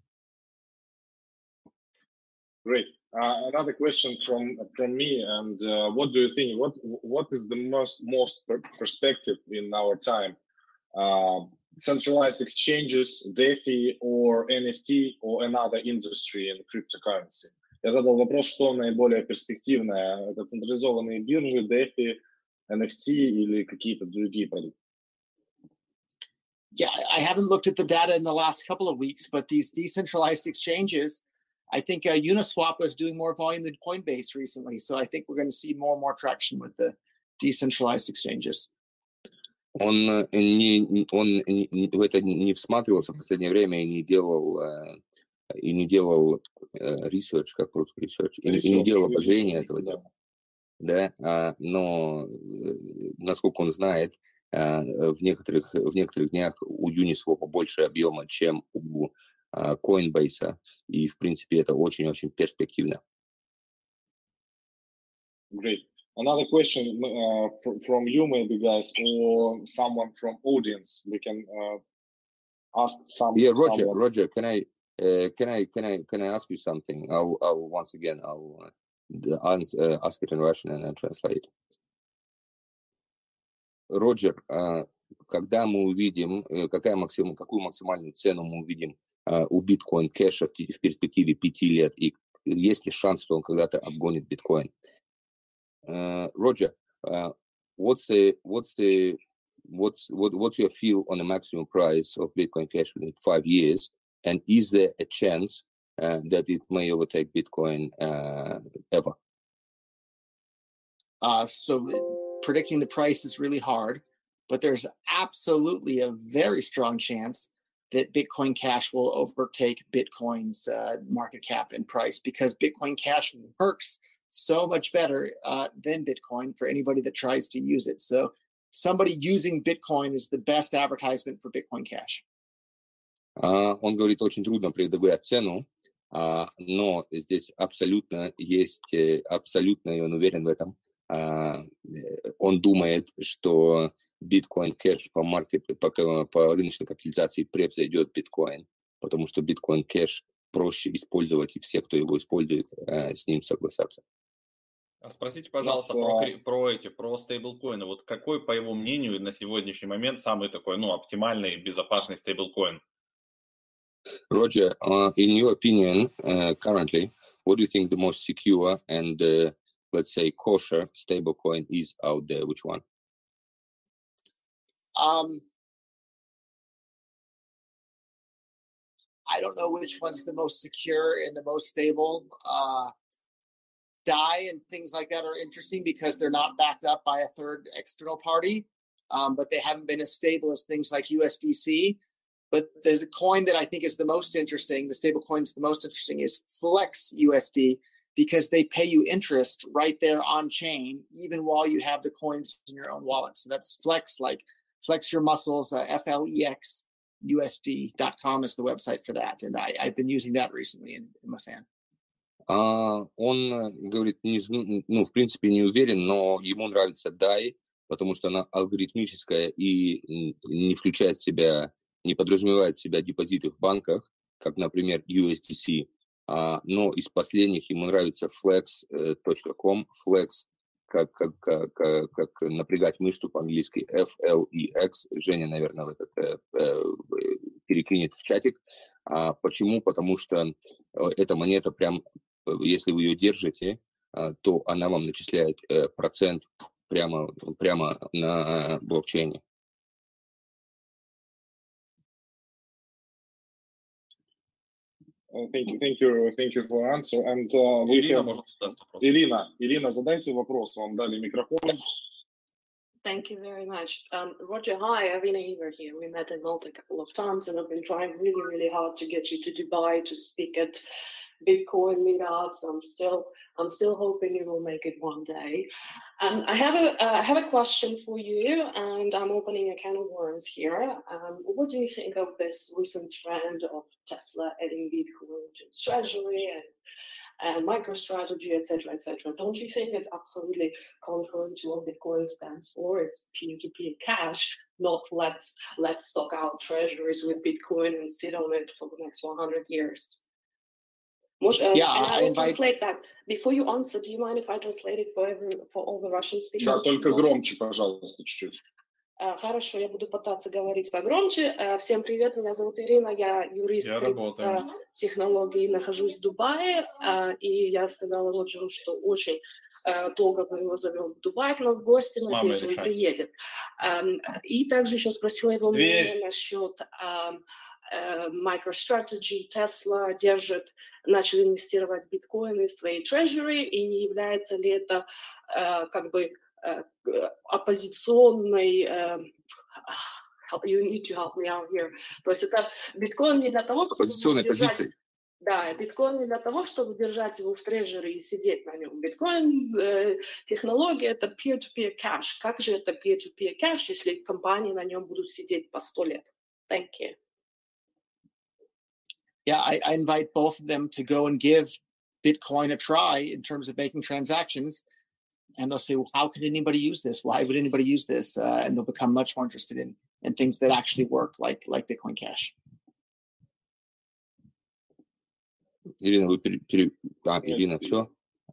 Great. Another question from me, and what do you think? What is the most perspective in our time? Centralized exchanges, DeFi, or NFT, or another industry in cryptocurrency? Я задал вопрос, что наиболее перспективное. Это централизованные биржи, DeFi, NFT или какие-то другие продукты? Yeah, I haven't looked at the data in the last couple of weeks, but these decentralized exchanges, I think Uniswap was doing more volume than Coinbase recently. So I think we're going to see more and more traction with the decentralized exchanges. Он в это не всматривался в последнее время и не делал research, как по-русски research, и не делал обозрения этого дела. Да, но насколько он знает, в некоторых днях у Uniswap больше объема, чем у Coinbase, и в принципе это очень-очень перспективно. Great. Another question from you, maybe, guys, or someone from audience. We can ask some. Yeah, Roger, can I ask you something? I'll once again ask it in Russian and then translate. Роджер, когда мы увидим, какую максимальную цену мы увидим у биткоин кэша в перспективе 5 лет, и есть ли шанс, что он когда-то обгонит биткоин? Roger, what's your feel on the maximum price of Bitcoin Cash within 5 years, and is there a chance that it may overtake Bitcoin ever? So predicting the price is really hard, but there's absolutely a very strong chance that Bitcoin Cash will overtake Bitcoin's market cap and price, because Bitcoin Cash works so much better than Bitcoin for anybody that tries to use it. So somebody using Bitcoin is the best advertisement for Bitcoin Cash. Он говорит, очень трудно предугадать цену, но здесь абсолютно, и он уверен в этом, он думает, что Bitcoin Cash по рыночной капитализации превзойдет Bitcoin, потому что Bitcoin Cash проще использовать, и все, кто его использует, с ним согласятся. Спросите, пожалуйста, про стейблкоины. Вот какой, по его мнению, на сегодняшний момент самый такой, оптимальный, безопасный стейблкоин? Roger, in your opinion, currently, what do you think the most secure and, let's say, kosher stablecoin is out there? Which one? I don't know which one's the most secure and the most stable. DAI and things like that are interesting because they're not backed up by a third external party, but they haven't been as stable as things like USDC. But there's a coin that I think is the most interesting, the stable coin's the most interesting, is Flex USD, because they pay you interest right there on chain, even while you have the coins in your own wallet. So that's Flex, like Flex Your Muscles, FLEXUSD.com is the website for that. And I've been using that recently and I'm a fan. Он говорит, в принципе, не уверен, но ему нравится DAI, потому что она алгоритмическая и не включает в себя, не подразумевает в себя депозиты в банках, как, например, USDC. Но из последних ему нравится flex.com, flex, как напрягать мышцу по-английски, FLEX. Женя, наверное, перекинет в чатик. Почему? Потому что эта монета прям, если вы ее держите, то она вам начисляет процент прямо на блокчейне. Thank you for your answer. And Ирина, задайте вопрос. Вам дали микрофон. Thank you very much. Roger, hi, Irina Eber here. We met in Malta a couple of times, and I've been trying really, really hard to get you to Dubai to speak at Bitcoin meetups. I'm still hoping you will make it one day. I have a question for you, and I'm opening a can of worms here. What do you think of this recent trend of Tesla adding Bitcoin to its treasury and MicroStrategy, etc., etc.? Don't you think it's absolutely contrary to what Bitcoin stands for? It's peer-to-peer cash, not let's stock our treasuries with Bitcoin and sit on it for the next 100 years. Yeah, I will translate that. Before you answer, do you mind if I translate it for all the Russian speakers? Да, только громче, пожалуйста, чуть-чуть. Хорошо, я буду пытаться говорить погромче. Всем привет, меня зовут Ирина, я юрист технологий, нахожусь в Дубае, и я сказала Роджеру, что очень долго мы его зовем в Дубай к нам в гости, надеюсь, он приедет. И также еще спросила его мнение насчет MicroStrategy, Tesla начали инвестировать в биткоины в свои treasury, и не является ли это как бы оппозиционной, you need to help me out here. То есть это биткоин не для того, чтобы оппозиционной позиции. Да, биткоин не для того, чтобы держать его в трежере и сидеть на нем. Биткоин технология это peer-to-peer cash. Как же это peer-to-peer cash, если компании на нем будут сидеть по 100 лет? Thank you. Yeah, I invite both of them to go and give Bitcoin a try in terms of making transactions. And they'll say, well, how could anybody use this? Why would anybody use this? And they'll become much more interested in things that actually work, like Bitcoin Cash. Ирина, вы Ирина, все?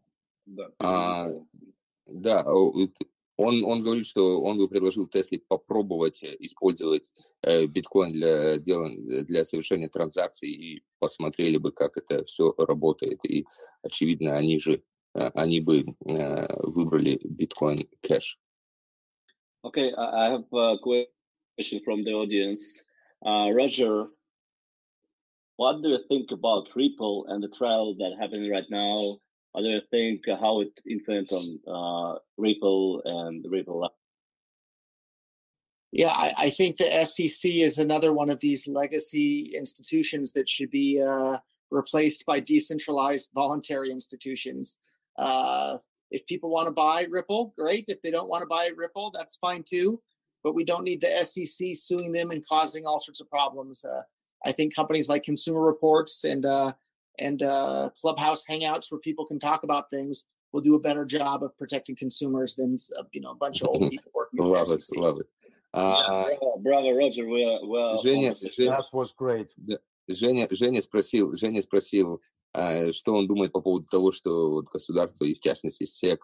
Да, он говорит, что он бы предложил Тесле попробовать использовать биткоин для совершения транзакций и посмотрели бы, как это все работает. И, очевидно, они бы выбрали Bitcoin Cash. Okay, I have a question from the audience. Roger, what do you think about Ripple and the trial that happening right now? What do you think how it influenced on Ripple and Ripple? Yeah, I think the SEC is another one of these legacy institutions that should be replaced by decentralized voluntary institutions. If people want to buy Ripple, great. If they don't want to buy Ripple, that's fine too. But we don't need the SEC suing them and causing all sorts of problems. I think companies like Consumer Reports and Clubhouse Hangouts, where people can talk about things, will do a better job of protecting consumers than a bunch of old people working for the SEC. Love it. Bravo, Roger. Женя, that was great. Женя спросил, что он думает по поводу того, что вот государство, и в частности SEC,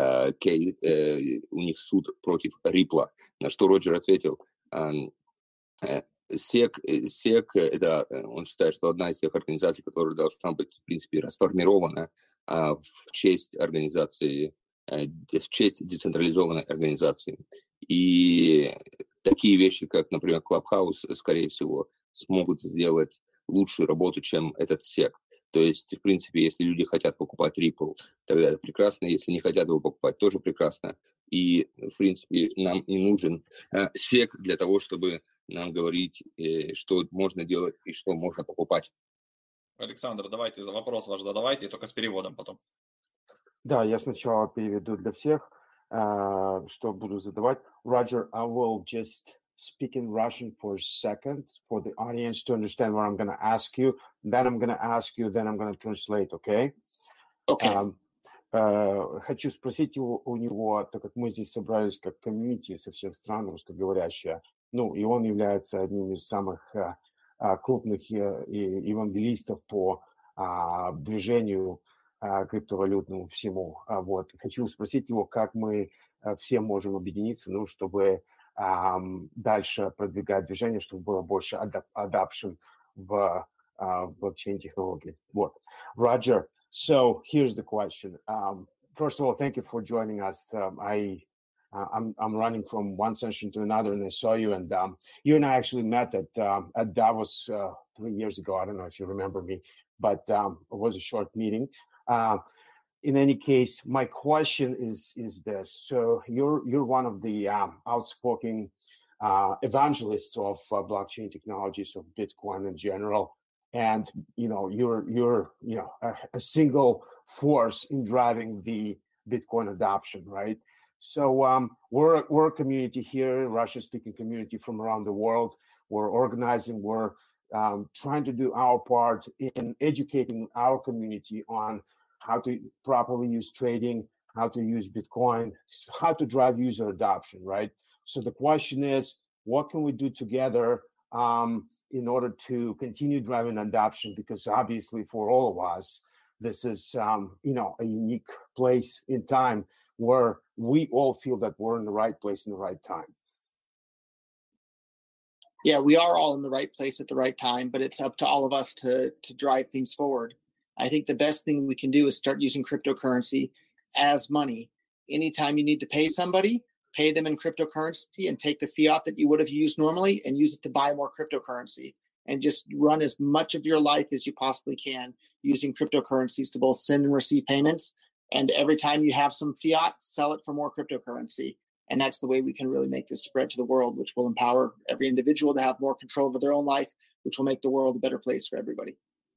у них суд против Ripple, на что Роджер ответил, SEC, это, он считает, что одна из тех организаций, которая должна быть, в принципе, расформирована в честь организации, в честь децентрализованной организации. И такие вещи, как, например, Clubhouse, скорее всего, смогут сделать лучшую работу, чем этот SEC. То есть, в принципе, если люди хотят покупать Ripple, тогда это прекрасно. Если не хотят его покупать, тоже прекрасно. И, в принципе, нам не нужен SEC для того, чтобы нам говорить, что можно делать и что можно покупать. Александр, давайте вопрос ваш задавайте, только с переводом потом. Да, я сначала переведу для всех, что буду задавать. Roger, I will just speak in Russian for a second for the audience to understand what I'm going to ask you. Then I'm going to ask you, then I'm going to translate, okay? Okay. Хочу спросить у него, так как мы здесь собрались как комьюнити со всех стран русскоговорящие, и он является одним из самых крупных евангелистов по движению криптовалютному всему. Хочу спросить его, как мы все можем объединиться, чтобы дальше продвигать движение, чтобы было больше adoption в блокчейн-технологии. Roger, so here's the question. First of all, thank you for joining us. I'm running from one session to another, and I saw you, and you and I actually met at Davos 3 years ago. I don't know if you remember me, but it was a short meeting. In any case, my question is this: so you're one of the outspoken evangelists of blockchain technologies, of Bitcoin in general, and you're a single force in driving the Bitcoin adoption, right? So we're a community here, Russian-speaking community from around the world. We're organizing. We're trying to do our part in educating our community on how to properly use trading, how to use Bitcoin, how to drive user adoption, right? So the question is, what can we do together in order to continue driving adoption? Because obviously for all of us, this is, a unique place in time where we all feel that we're in the right place in the right time. Yeah, we are all in the right place at the right time, but it's up to all of us to drive things forward. I think the best thing we can do is start using cryptocurrency as money. Anytime you need to pay somebody, pay them in cryptocurrency and take the fiat that you would have used normally and use it to buy more cryptocurrency, and just run as much of your life as you possibly can using cryptocurrencies to both send and receive payments. And every time you have some fiat, sell it for more cryptocurrency. And that's the way we can really make this spread to the world, which will empower every individual to have more control over their own life, which will make the world a better place for everybody.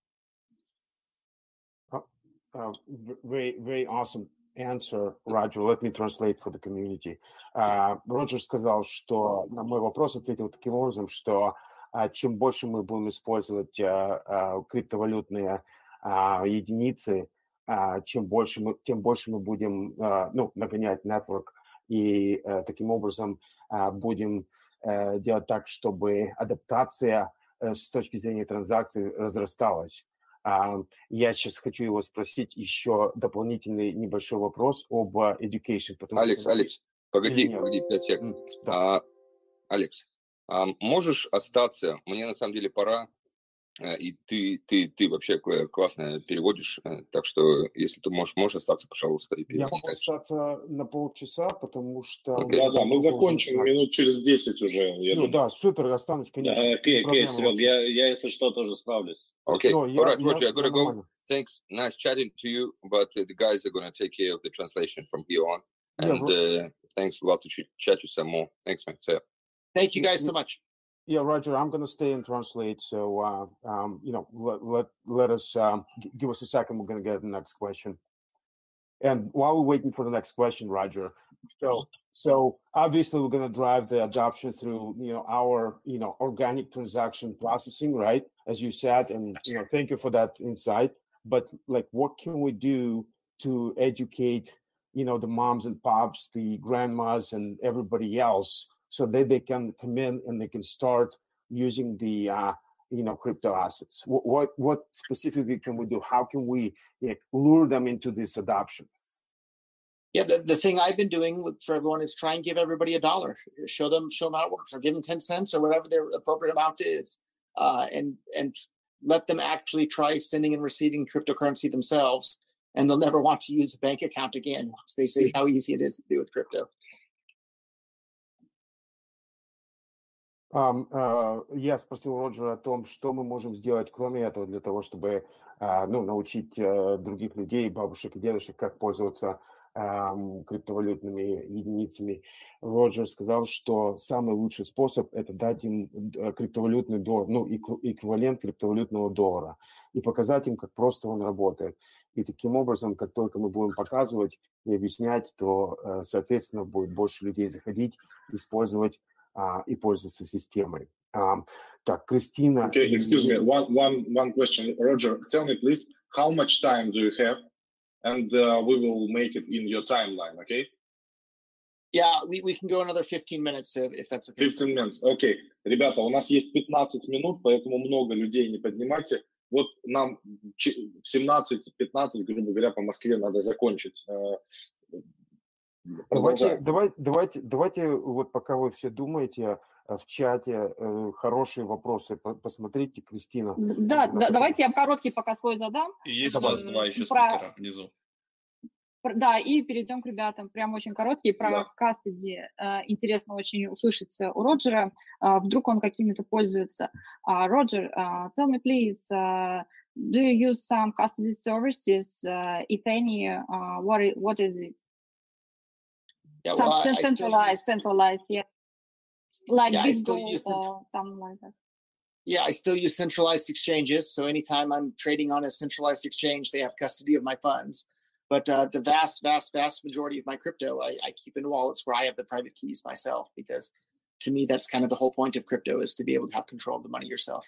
Very, very awesome answer, Roger. Let me translate for the community. Роджер сказал, что на мой вопрос ответил таким образом, что чем больше мы будем использовать криптовалютные единицы, тем больше мы будем нагонять network, и таким образом будем делать так, чтобы адаптация с точки зрения транзакций разрасталась. Я сейчас хочу его спросить еще дополнительный небольшой вопрос об education. Алекс, погоди, 5 секунд. Да. Алекс, можешь остаться? Мне на самом деле пора. И ты вообще классно переводишь, так что если ты можешь остаться, пожалуйста, и переводи. Я могу остаться на полчаса, потому что... Okay. Да, мы закончим минут через 10 уже. Все, да, супер, останусь, конечно. Окей, Серег, я, если что, тоже справлюсь. Okay, all right, Roger, I gotta go. Thanks, nice chatting to you, but the guys are gonna take care of the translation from here on. And thanks, love to chat you some more. Thanks, man. So, thank you guys so much. Yeah, Roger, I'm going to stay and translate. So, let us give us a second. We're going to get the next question. And while we're waiting for the next question, Roger, so obviously we're going to drive the adoption through, our, organic transaction processing, right? As you said, and, thank you for that insight. But like, what can we do to educate, the moms and pops, the grandmas and everybody else, so that they can come in and they can start using the, crypto assets? What specifically can we do? How can we lure them into this adoption? Yeah, the thing I've been doing for everyone is try and give everybody $1. Show them how it works, or give them 10 cents or whatever their appropriate amount is, and let them actually try sending and receiving cryptocurrency themselves, and they'll never want to use a bank account again once they see how easy it is to do with crypto. Я спросил Роджера о том, что мы можем сделать, кроме этого, для того, чтобы научить других людей, бабушек и дедушек, как пользоваться криптовалютными единицами. Роджер сказал, что самый лучший способ – это дать им криптовалютный доллар, эквивалент криптовалютного доллара, и показать им, как просто он работает. И таким образом, как только мы будем показывать и объяснять, то, соответственно, будет больше людей заходить, использовать и пользоваться системой. Так, Кристина... Okay, excuse me, one question. Roger, tell me, please, how much time do you have? And we will make it in your timeline, okay? Yeah, we can go another 15 minutes if that's okay. 15 minutes, okay. Ребята, у нас есть 15 минут, поэтому много людей не поднимайте. Вот нам в 17-15, грубо говоря, по Москве надо закончить. Давайте, вот пока вы все думаете, в чате хорошие вопросы посмотрите, Кристина. Да, давайте я короткий пока свой задам. И есть у нас два еще спикера внизу. Да, и перейдем к ребятам. Прям очень короткие про custody. Интересно очень услышать у Роджера. Вдруг он какими-то пользуется. Роджер, tell me please, do you use some custody services? If any, what is it? Yeah, well, centralized, yeah. Like BitGo or something like that. Yeah, I still use centralized exchanges. So anytime I'm trading on a centralized exchange, they have custody of my funds. But the vast majority of my crypto, I keep in wallets where I have the private keys myself, because to me, that's kind of the whole point of crypto, is to be able to have control of the money yourself.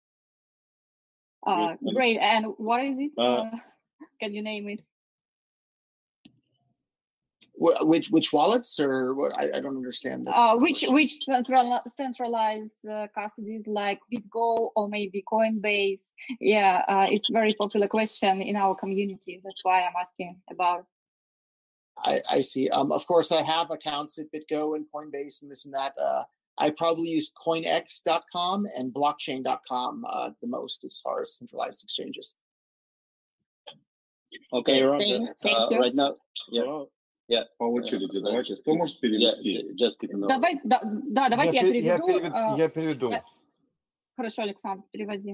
Great. And what is it? Can you name it? Which wallets, or what? I don't understand. Which centralized custodies like BitGo or maybe Coinbase? Yeah, it's a very popular question in our community. That's why I'm asking about it. I see. Of course, I have accounts at BitGo and Coinbase and this and that. I probably use coinex.com and blockchain.com the most as far as centralized exchanges. Okay, Thank you. right now, yeah. По очереди, давайте. Кто может перевести? Давайте я переведу. Я переведу. Хорошо, Александр, переводи.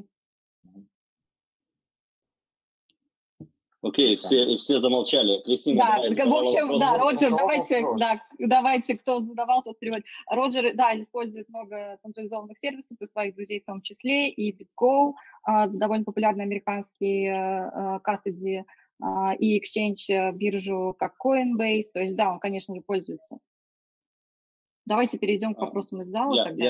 Окей, все замолчали. Кристина, Да, давай, в общем, да, Роджер, вопрос. давайте, кто задавал, тот переводит. Роджер, да, использует много централизованных сервисов и своих друзей в том числе, и BitGo, довольно популярный американский custody и exchange биржу, как Coinbase, то есть, да, он, конечно же, пользуется. Давайте перейдем к вопросам из зала тогда.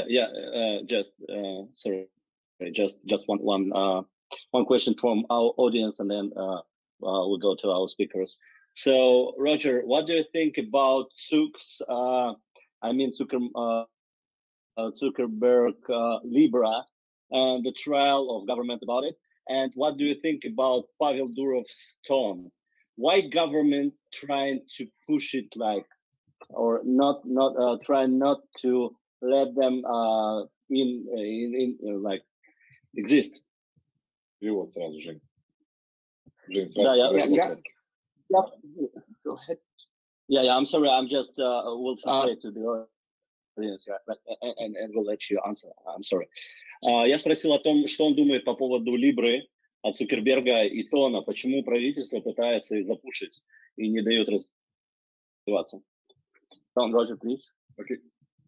Just one question from our audience, and then we'll go to our speakers. So, Roger, what do you think about Zuckerberg Libra and the trial of government about it? And what do you think about Pavel Durov's tone? Why government trying to push it or not trying not to let them exist? Перевод сразу, Жень. Go ahead. Yeah, I'm sorry. I'm just will translate to the audience, and we'll let you answer. I'm sorry. Я спросил о том, что он думает по поводу Либры от Цукерберга и Тона. Почему правительство пытается их запушить и не дает развиваться? Roger, please. Okay.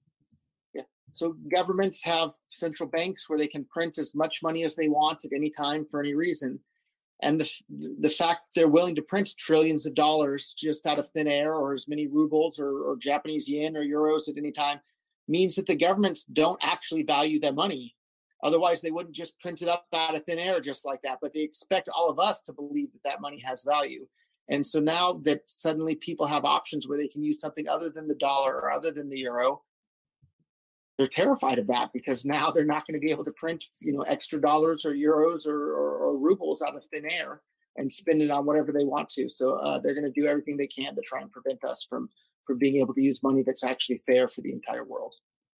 So governments have central banks where they can print as much money as they want at any time for any reason. And the fact they're willing to print trillions of dollars just out of thin air, or as many rubles or Japanese yen or euros at any time, means that the governments don't actually value their money. Otherwise, they wouldn't just print it up out of thin air just like that. But they expect all of us to believe that money has value. And so now that suddenly people have options where they can use something other than the dollar or other than the euro, they're terrified of that, because now they're not going to be able to print, extra dollars or euros or rubles out of thin air and spend it on whatever they want to. So they're going to do everything they can to try and prevent us from being able to use money that's actually fair for the entire world.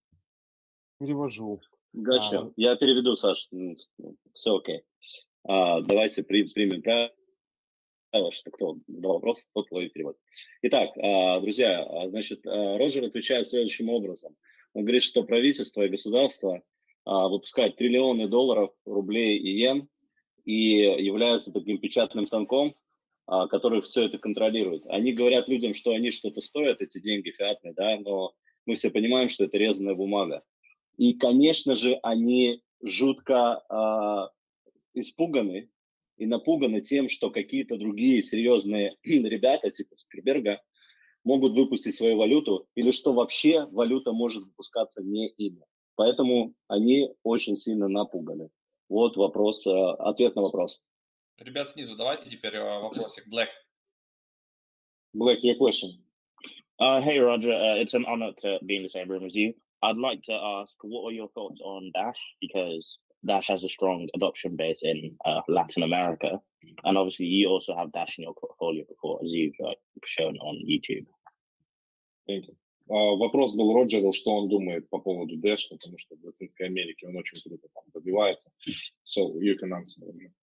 Перевожу. Gotcha. Я переведу, Саш. Все окей. Давайте примем правило, что кто задал вопрос, тот ловит перевод. Итак, друзья, значит, Роджер отвечает следующим образом. Он говорит, что правительство и государство выпускают триллионы долларов, рублей и йен и являются таким печатным станком, который все это контролирует. Они говорят людям, что они что-то стоят, эти деньги фиатные, да, но мы все понимаем, что это резаная бумага. И, конечно же, они жутко испуганы и напуганы тем, что какие-то другие серьезные ребята, типа Цукерберга, могут выпустить свою валюту, или что вообще валюта может выпускаться не ими. Поэтому они очень сильно напуганы. Вот вопрос, ответ на вопрос. Ребят, снизу давайте теперь вопросик. Black, your question. Hey, Roger. It's an honor to be in the same room as you. I'd like to ask, what are your thoughts on Dash? Because Dash has a strong adoption base in Latin America. And obviously, you also have Dash in your portfolio before, as you've shown on YouTube. Thank you. Вопрос был Роджеру, что он думает по поводу Dash, потому что в Латинской Америке он очень круто там развивается. So you can answer.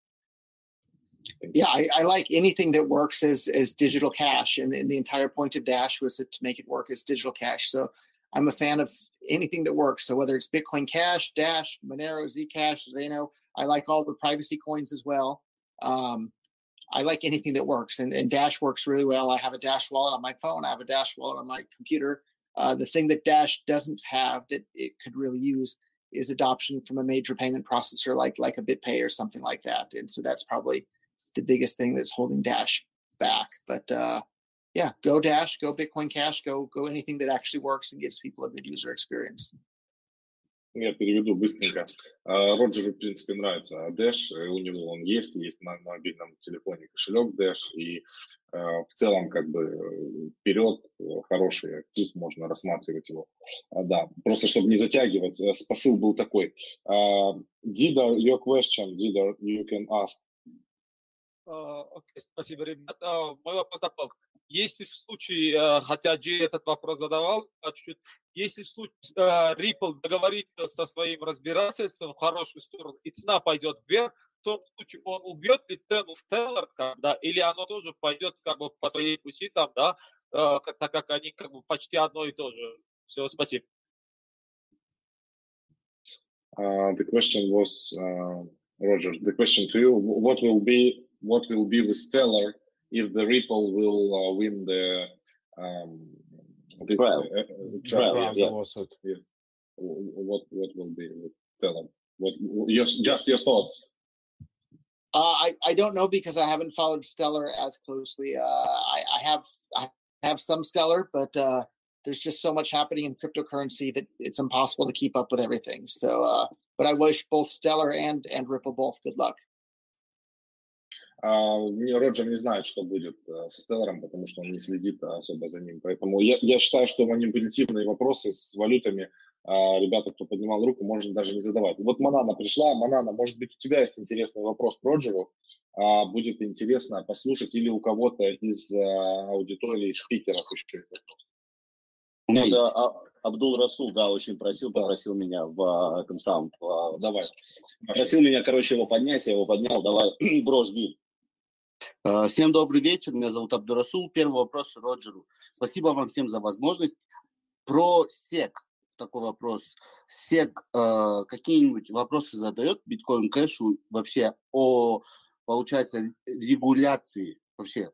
Yeah, I like anything that works as digital cash, and the entire point of Dash was to make it work as digital cash. So I'm a fan of anything that works. So whether it's Bitcoin Cash, Dash, Monero, Zcash, Zeno, I like all the privacy coins as well. I like anything that works, and Dash works really well. I have a Dash wallet on my phone. I have a Dash wallet on my computer. The thing that Dash doesn't have that it could really use is adoption from a major payment processor like a BitPay or something like that. And so that's probably the biggest thing that's holding Dash back. But yeah, go Dash, go Bitcoin Cash, go anything that actually works and gives people a good user experience. Я переведу быстренько. Роджеру, в принципе, нравится Dash, у него он есть на мобильном телефоне кошелек Dash, и в целом как бы вперед хороший актив, можно рассматривать его. Да, просто чтобы не затягивать, посыл был такой. Didar, your question, Didar, you can ask. Окей, спасибо, ребят. Мой вопрос такой. если в случае, хотя Джей этот вопрос задавал, чуть-чуть, если в случае Ripple договорится со своим разбирательством в хорошую сторону, и цена пойдет вверх, в том случае он убьет ли цену Stellar, да, или оно тоже пойдет как бы по своей пути там, да, так как они как бы почти одно и то же. Все, спасибо. The question was, Roger, the question to you, what will be with Stellar if the Ripple will win the Trial. Yes. Yes. What will be with Stellar? Just your thoughts. I don't know because I haven't followed Stellar as closely. I have some Stellar, but there's just so much happening in cryptocurrency that it's impossible to keep up with everything. So, but I wish both Stellar and Ripple both good luck. Роджер не знает, что будет с Stellar'ом, потому что он не следит особо за ним. Поэтому я считаю, что манипулятивные вопросы с валютами ребята, кто поднимал руку, можно даже не задавать. Вот Манана пришла. Манана, может быть, у тебя есть интересный вопрос к Роджеру. Будет интересно послушать или у кого-то из аудитории спикеров еще есть вопрос. Это Абдул Расул, да, очень попросил меня в этом самом. Давай. Просил меня, короче, его поднять, я его поднял. Давай, бро, жги. Всем добрый вечер, меня зовут Абдул Расул. Первый вопрос Роджеру. Спасибо вам всем за возможность. Про SEC такой вопрос. SEC какие-нибудь вопросы задает Bitcoin Cash вообще о, получается, регуляции вообще?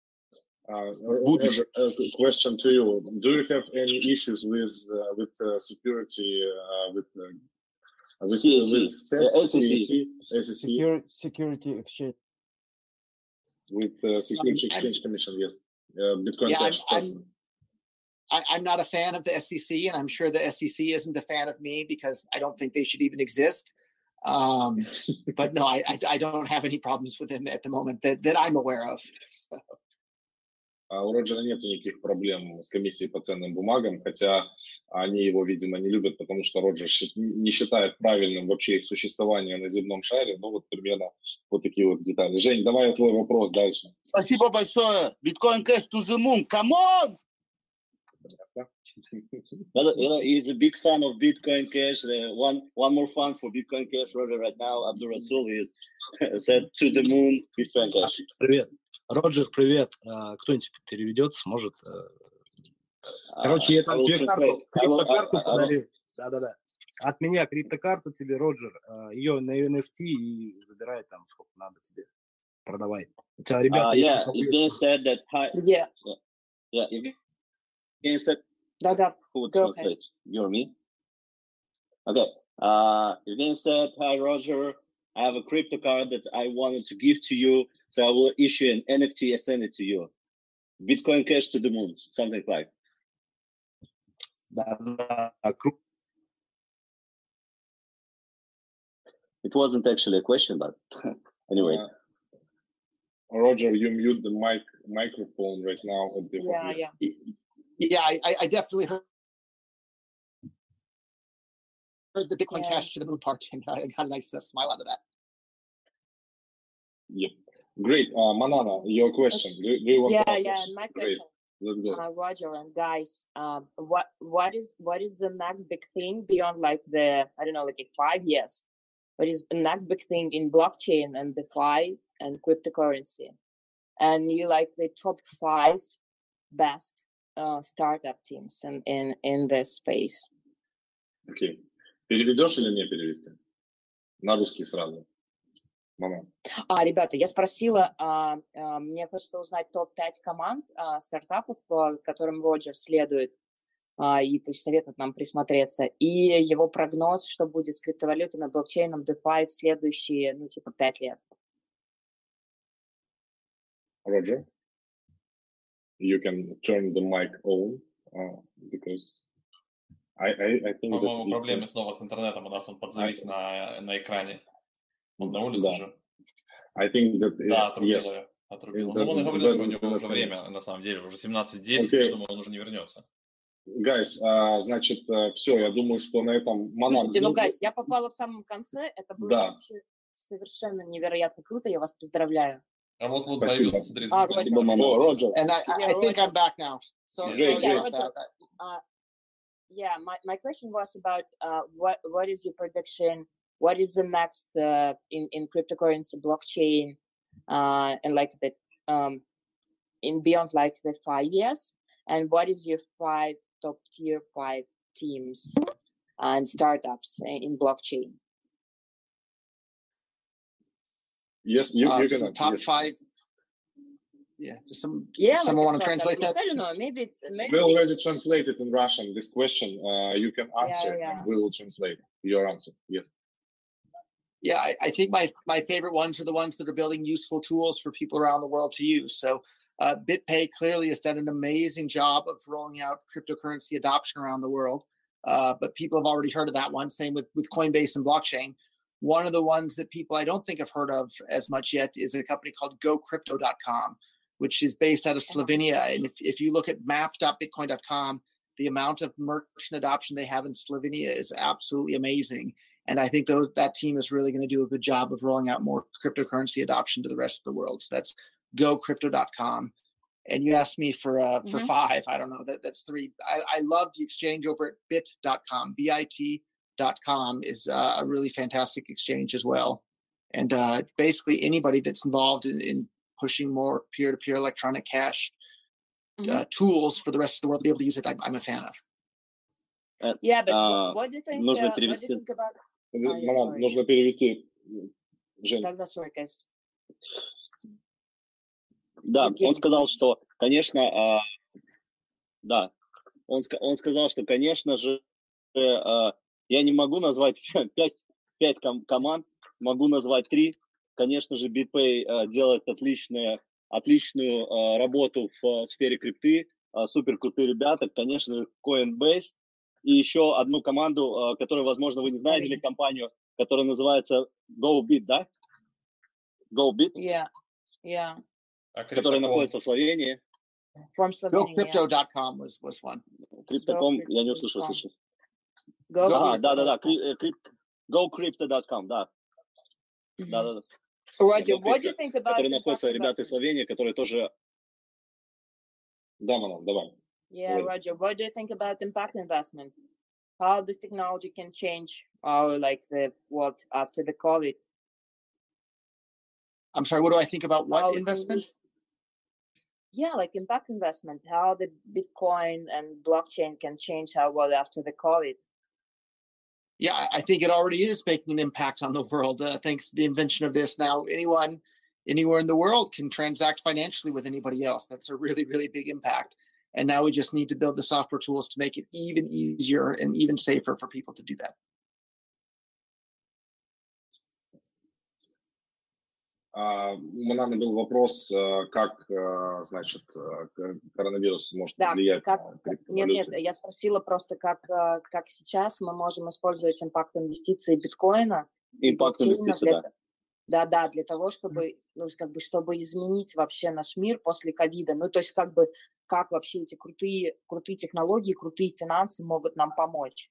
Question to you. Do you have any issues with security with SEC? Security exchange. With Security Exchange Commission, yes. Bitcoin Cash. I'm not a fan of the SEC, and I'm sure the SEC isn't a fan of me because I don't think they should even exist. But no, I don't have any problems with them at the moment that I'm aware of. So. У Роджера нет никаких проблем с комиссией по ценным бумагам, хотя они его, видимо, не любят, потому что Роджер не считает правильным вообще их существование на земном шаре. Ну, вот примерно вот такие вот детали. Жень, давай твой вопрос дальше. Спасибо большое. Bitcoin Cash to the moon. Come on! He's a big fan of Bitcoin Cash. One more fan for Bitcoin Cash, Roger, right now. Abdul Rasul is said to the moon, Bitcoin Cash. Привет. Роджер, привет. Кто-нибудь переведет, сможет? Короче, я там тебе криптокарту подарил. Да-да-да. От меня криптокарту тебе, Роджер. Ее на NFT и забирай там, сколько надо тебе. Продавай. У тебя, ребята, Evgeny said that hi. Yeah. Yeah, Evgeny said. Да-да. Who translate? You or me? Okay. Evgeny said, hi, Roger. I have a crypto card that I wanted to give to you. So I will issue an NFT and send it to you. Bitcoin Cash to the moon, something like. It wasn't actually a question, but anyway. Roger, you mute the microphone right now. Yeah, I definitely heard the Bitcoin Cash to the moon part, and I got a nice smile out of that. Yep. Great. Manana, your question. Do you want to answer? My question. Let's go. Roger and guys, what is the next big thing beyond like the, I don't know, like 5 years? What is the next big thing in blockchain and DeFi and cryptocurrency? And you like the top 5 best startup teams in this space? Okay. Переведешь или мне перевести? На русский сразу. Ребята, я спросила, мне хочется узнать топ-5 команд стартапов, которым Роджер следует, и то есть советует нам присмотреться, и его прогноз, что будет с криптовалютами, блокчейном, DeFi в следующие, 5 лет. Roger, you can turn the mic on, because I think По-моему, проблемы снова с интернетом, у нас он подзавис на экране. Он на улице же. I think that, да, отрубило. Ну, он и говорил, что у него уже время, на самом деле, уже 17:10, я думаю, он уже не вернется. Guys, значит, все, я думаю, что на этом... Guys, я попала в самом конце, это было вообще совершенно невероятно круто, я вас поздравляю. А вот Спасибо. появился, смотри, Спасибо, Мама. О, Роджер. And I think I'm back now. So Great, sorry great. about that. Yeah, my question was about what is your prediction? What is the next in cryptocurrency blockchain and like the in beyond like the 5 years? And what is your 5 top tier 5 teams and startups in blockchain? Yes, you So can. top Yes. 5. Yeah, someone Like want to a translate startup. that? I don't know. Maybe it's We already translated in Russian this question. You can answer, yeah. and we will translate your answer. Yes. Yeah, I think my favorite ones are the ones that are building useful tools for people around the world to use. So BitPay clearly has done an amazing job of rolling out cryptocurrency adoption around the world. But people have already heard of that one. Same with Coinbase and blockchain. One of the ones that people I don't think have heard of as much yet is a company called GoCrypto.com, which is based out of Slovenia. And if you look at map.bitcoin.com, the amount of merchant adoption they have in Slovenia is absolutely amazing. And I think that team is really going to do a good job of rolling out more cryptocurrency adoption to the rest of the world. So that's GoCrypto.com. And you asked me for 5. I don't know. That's 3. I love the exchange over at bit.com. BIT.com is a really fantastic exchange as well. And basically anybody that's involved in pushing more peer-to-peer electronic cash tools for the rest of the world to be able to use it, I'm a fan of. Yeah, but what do you think? What do you think about? Мама, нужно перевести. Жень. Тогда sorry, guys. Да, он сказал, что, конечно, да, он сказал, что, конечно же, я не могу назвать 5 команд, могу назвать 3. Конечно же, BitPay делает отличную работу в сфере крипты, супер крутые ребята, конечно, Coinbase, и еще одну команду, которую, возможно, вы не знаете, или компанию, которая называется GoBit, да? GoBit? Yeah. Которая находится в Словении. From Slovenia. GoCrypto.com was one. Crypto.com, я не услышал сейчас. Да. GoCrypto.com, да. Да. Roger, what do you think about которые находятся ребята из Словении, которые тоже... Да, Манон, давай. Yeah, Roger, what do you think about impact investment? How this technology can change our the world after the COVID? I'm sorry, what do I think about what investment? Yeah, like impact investment, how the Bitcoin and blockchain can change our world after the COVID. Yeah, I think it already is making an impact on the world. Thanks to the invention of this, now anyone, anywhere in the world can transact financially with anybody else. That's a really, really big impact. And now we just need to build the software tools to make it even easier and even safer for people to do that. У Мананы был вопрос, как, значит, коронавирус может влиять на криптовалюты. Нет, я спросила просто, как сейчас мы можем использовать импакт инвестиций биткоина. Импакт инвестиций, да. Да, для того, чтобы, чтобы изменить вообще наш мир после ковида. Ну, то есть, как вообще эти крутые технологии, крутые финансы могут нам помочь.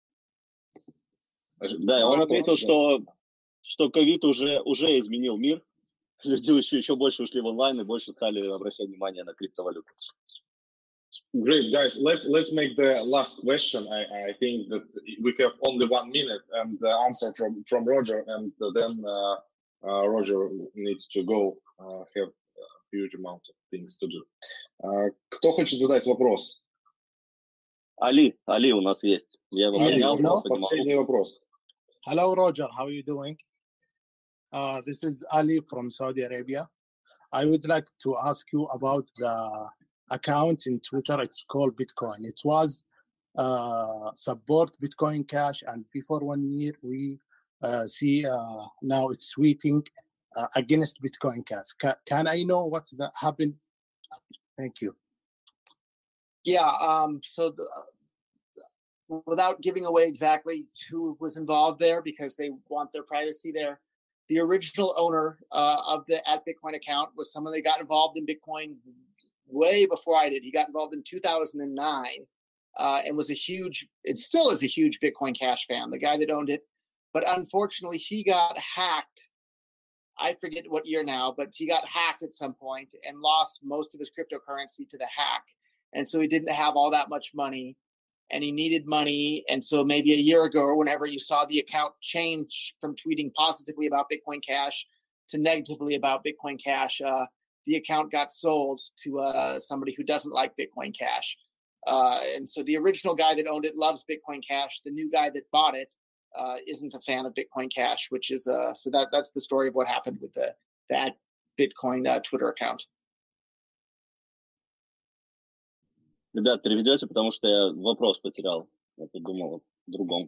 Да, он ответил, что ковид уже изменил мир. Люди еще больше ушли в онлайн и больше стали обращать внимание на криптовалюту. Great, guys. Let's make the last question. I think that we have only 1 minute and the answer from Roger, and then Roger needs to go have a huge amount of things to do. Кто хочет задать вопрос? Али у нас есть. Я его поднял, последний вопрос. Hello, Roger. How are you doing? This is Ali from Saudi Arabia. I would like to ask you about the account in Twitter. It's called Bitcoin. It was support Bitcoin Cash, and before 1 year we see now it's tweeting against Bitcoin Cash. Can I know what happened? Thank you. Yeah. So without giving away exactly who was involved there, because they want their privacy there, the original owner of the @Bitcoin account was someone that got involved in Bitcoin way before I did. He got involved in 2009 and it still is a huge Bitcoin Cash fan, the guy that owned it. But unfortunately, he got hacked, I forget what year now, but he got hacked at some point and lost most of his cryptocurrency to the hack. And so he didn't have all that much money and he needed money. And so maybe a year ago or whenever you saw the account change from tweeting positively about Bitcoin Cash to negatively about Bitcoin Cash, the account got sold to somebody who doesn't like Bitcoin Cash. And so the original guy that owned it loves Bitcoin Cash. The new guy that bought it isn't a fan of Bitcoin Cash, which is so that's the story of what happened with that Bitcoin Twitter account. Ребят, переведете, потому что я вопрос потерял. Я подумал о другом.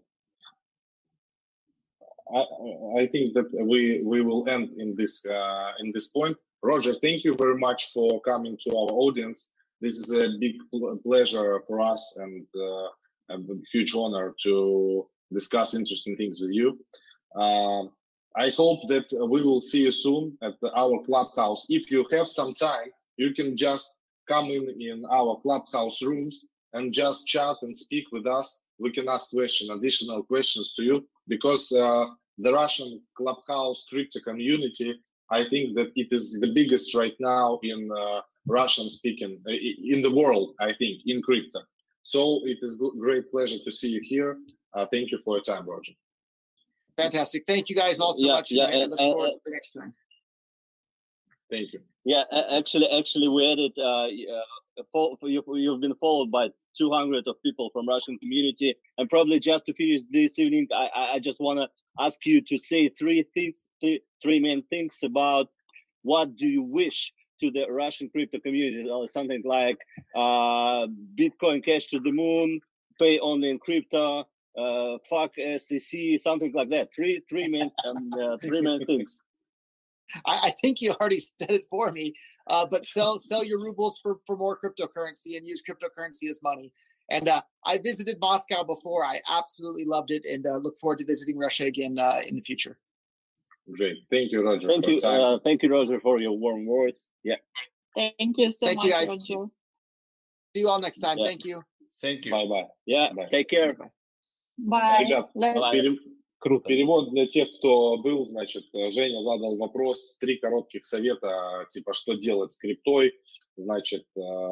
I think that we will end in this point. Roger, thank you very much for coming to our audience. This is a big pleasure for us and a huge honor to discuss interesting things with you. I hope that we will see you soon at our clubhouse. If you have some time, you can just come in our clubhouse rooms and just chat and speak with us. We can ask additional questions to you, because the Russian clubhouse crypto community, I think that it is the biggest right now in Russian speaking in the world, I think, in crypto. So it is a great pleasure to see you here. Thank you for your time, Roger. Fantastic. Thank you guys all so much. I look forward to the next time. Thank you. Yeah, actually, we added. You've been followed by 200 of people from Russian community, and probably just to finish this evening, I just want to ask you to say three main things about what do you wish to the Russian crypto community, or something like Bitcoin Cash to the moon, pay only in crypto, fuck SEC, something like that. Three main things. I think you already said it for me, but sell your rubles for more cryptocurrency and use cryptocurrency as money. And I visited Moscow before. I absolutely loved it, and look forward to visiting Russia again in the future. Great. Thank you, Roger. Thank you, Roger, for your warm words. Yeah. Thank you so much, guys. Roger. See you all next time. Yeah. Thank you. Thank you. Bye-bye. Yeah, Bye. take care. Bye. Ребят, Круто. перевод для тех, кто был, значит, Женя задал вопрос, 3 коротких совета, типа, что делать с криптой, значит,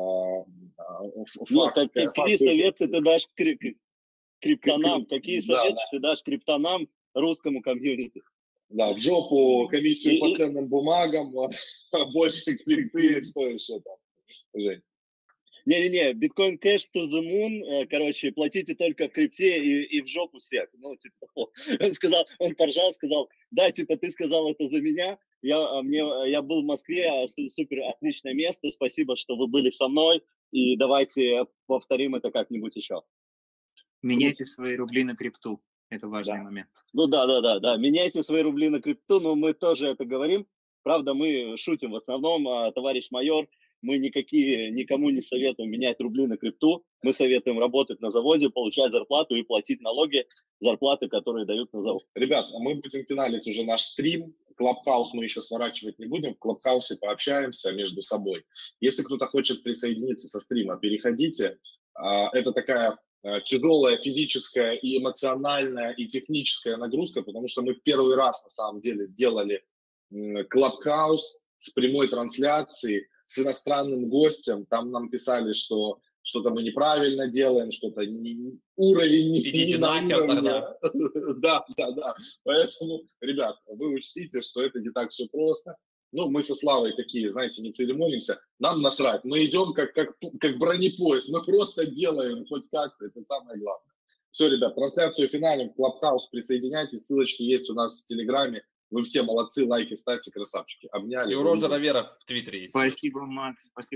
какие советы ты дашь криптонам, какие советы ты дашь криптонам, русскому комьюнити? Да, в жопу комиссию по ценным бумагам, больше крипты, что еще там, Жень? Не-не-не, Bitcoin Cash to the moon, короче, платите только в крипте и в жопу всех. Ну, типа, он поржал, сказал, да, типа, ты сказал это за меня, я был в Москве, супер отличное место, спасибо, что вы были со мной, и давайте повторим это как-нибудь еще. Меняйте свои рубли на крипту, это важный момент. Ну да, меняйте свои рубли на крипту, но мы тоже это говорим, правда, мы шутим в основном, товарищ майор, мы никому не советуем менять рубли на крипту. Мы советуем работать на заводе, получать зарплату и платить налоги, зарплаты, которые дают на завод. Ребят, мы будем финалить уже наш стрим. Клабхаус мы еще сворачивать не будем. В Клабхаусе пообщаемся между собой. Если кто-то хочет присоединиться со стрима, переходите. Это такая тяжелая физическая и эмоциональная и техническая нагрузка, потому что мы в первый раз на самом деле сделали Клабхаус с прямой трансляцией, с иностранным гостем. Там нам писали, что что-то мы неправильно делаем, что-то уровень не на уровне. Да. Поэтому, ребят, вы учтите, что это не так все просто. Ну, мы со Славой такие, знаете, не церемонимся. Нам насрать. Мы идем как бронепоезд. Мы просто делаем хоть как-то. Это самое главное. Все, ребят, трансляцию финалем. Клабхаус, присоединяйтесь. Ссылочки есть у нас в Телеграме. Вы все молодцы, лайки ставьте, красавчики. Обняли. И у Роджера Вера в Твиттере есть. Спасибо, Макс. Спасибо.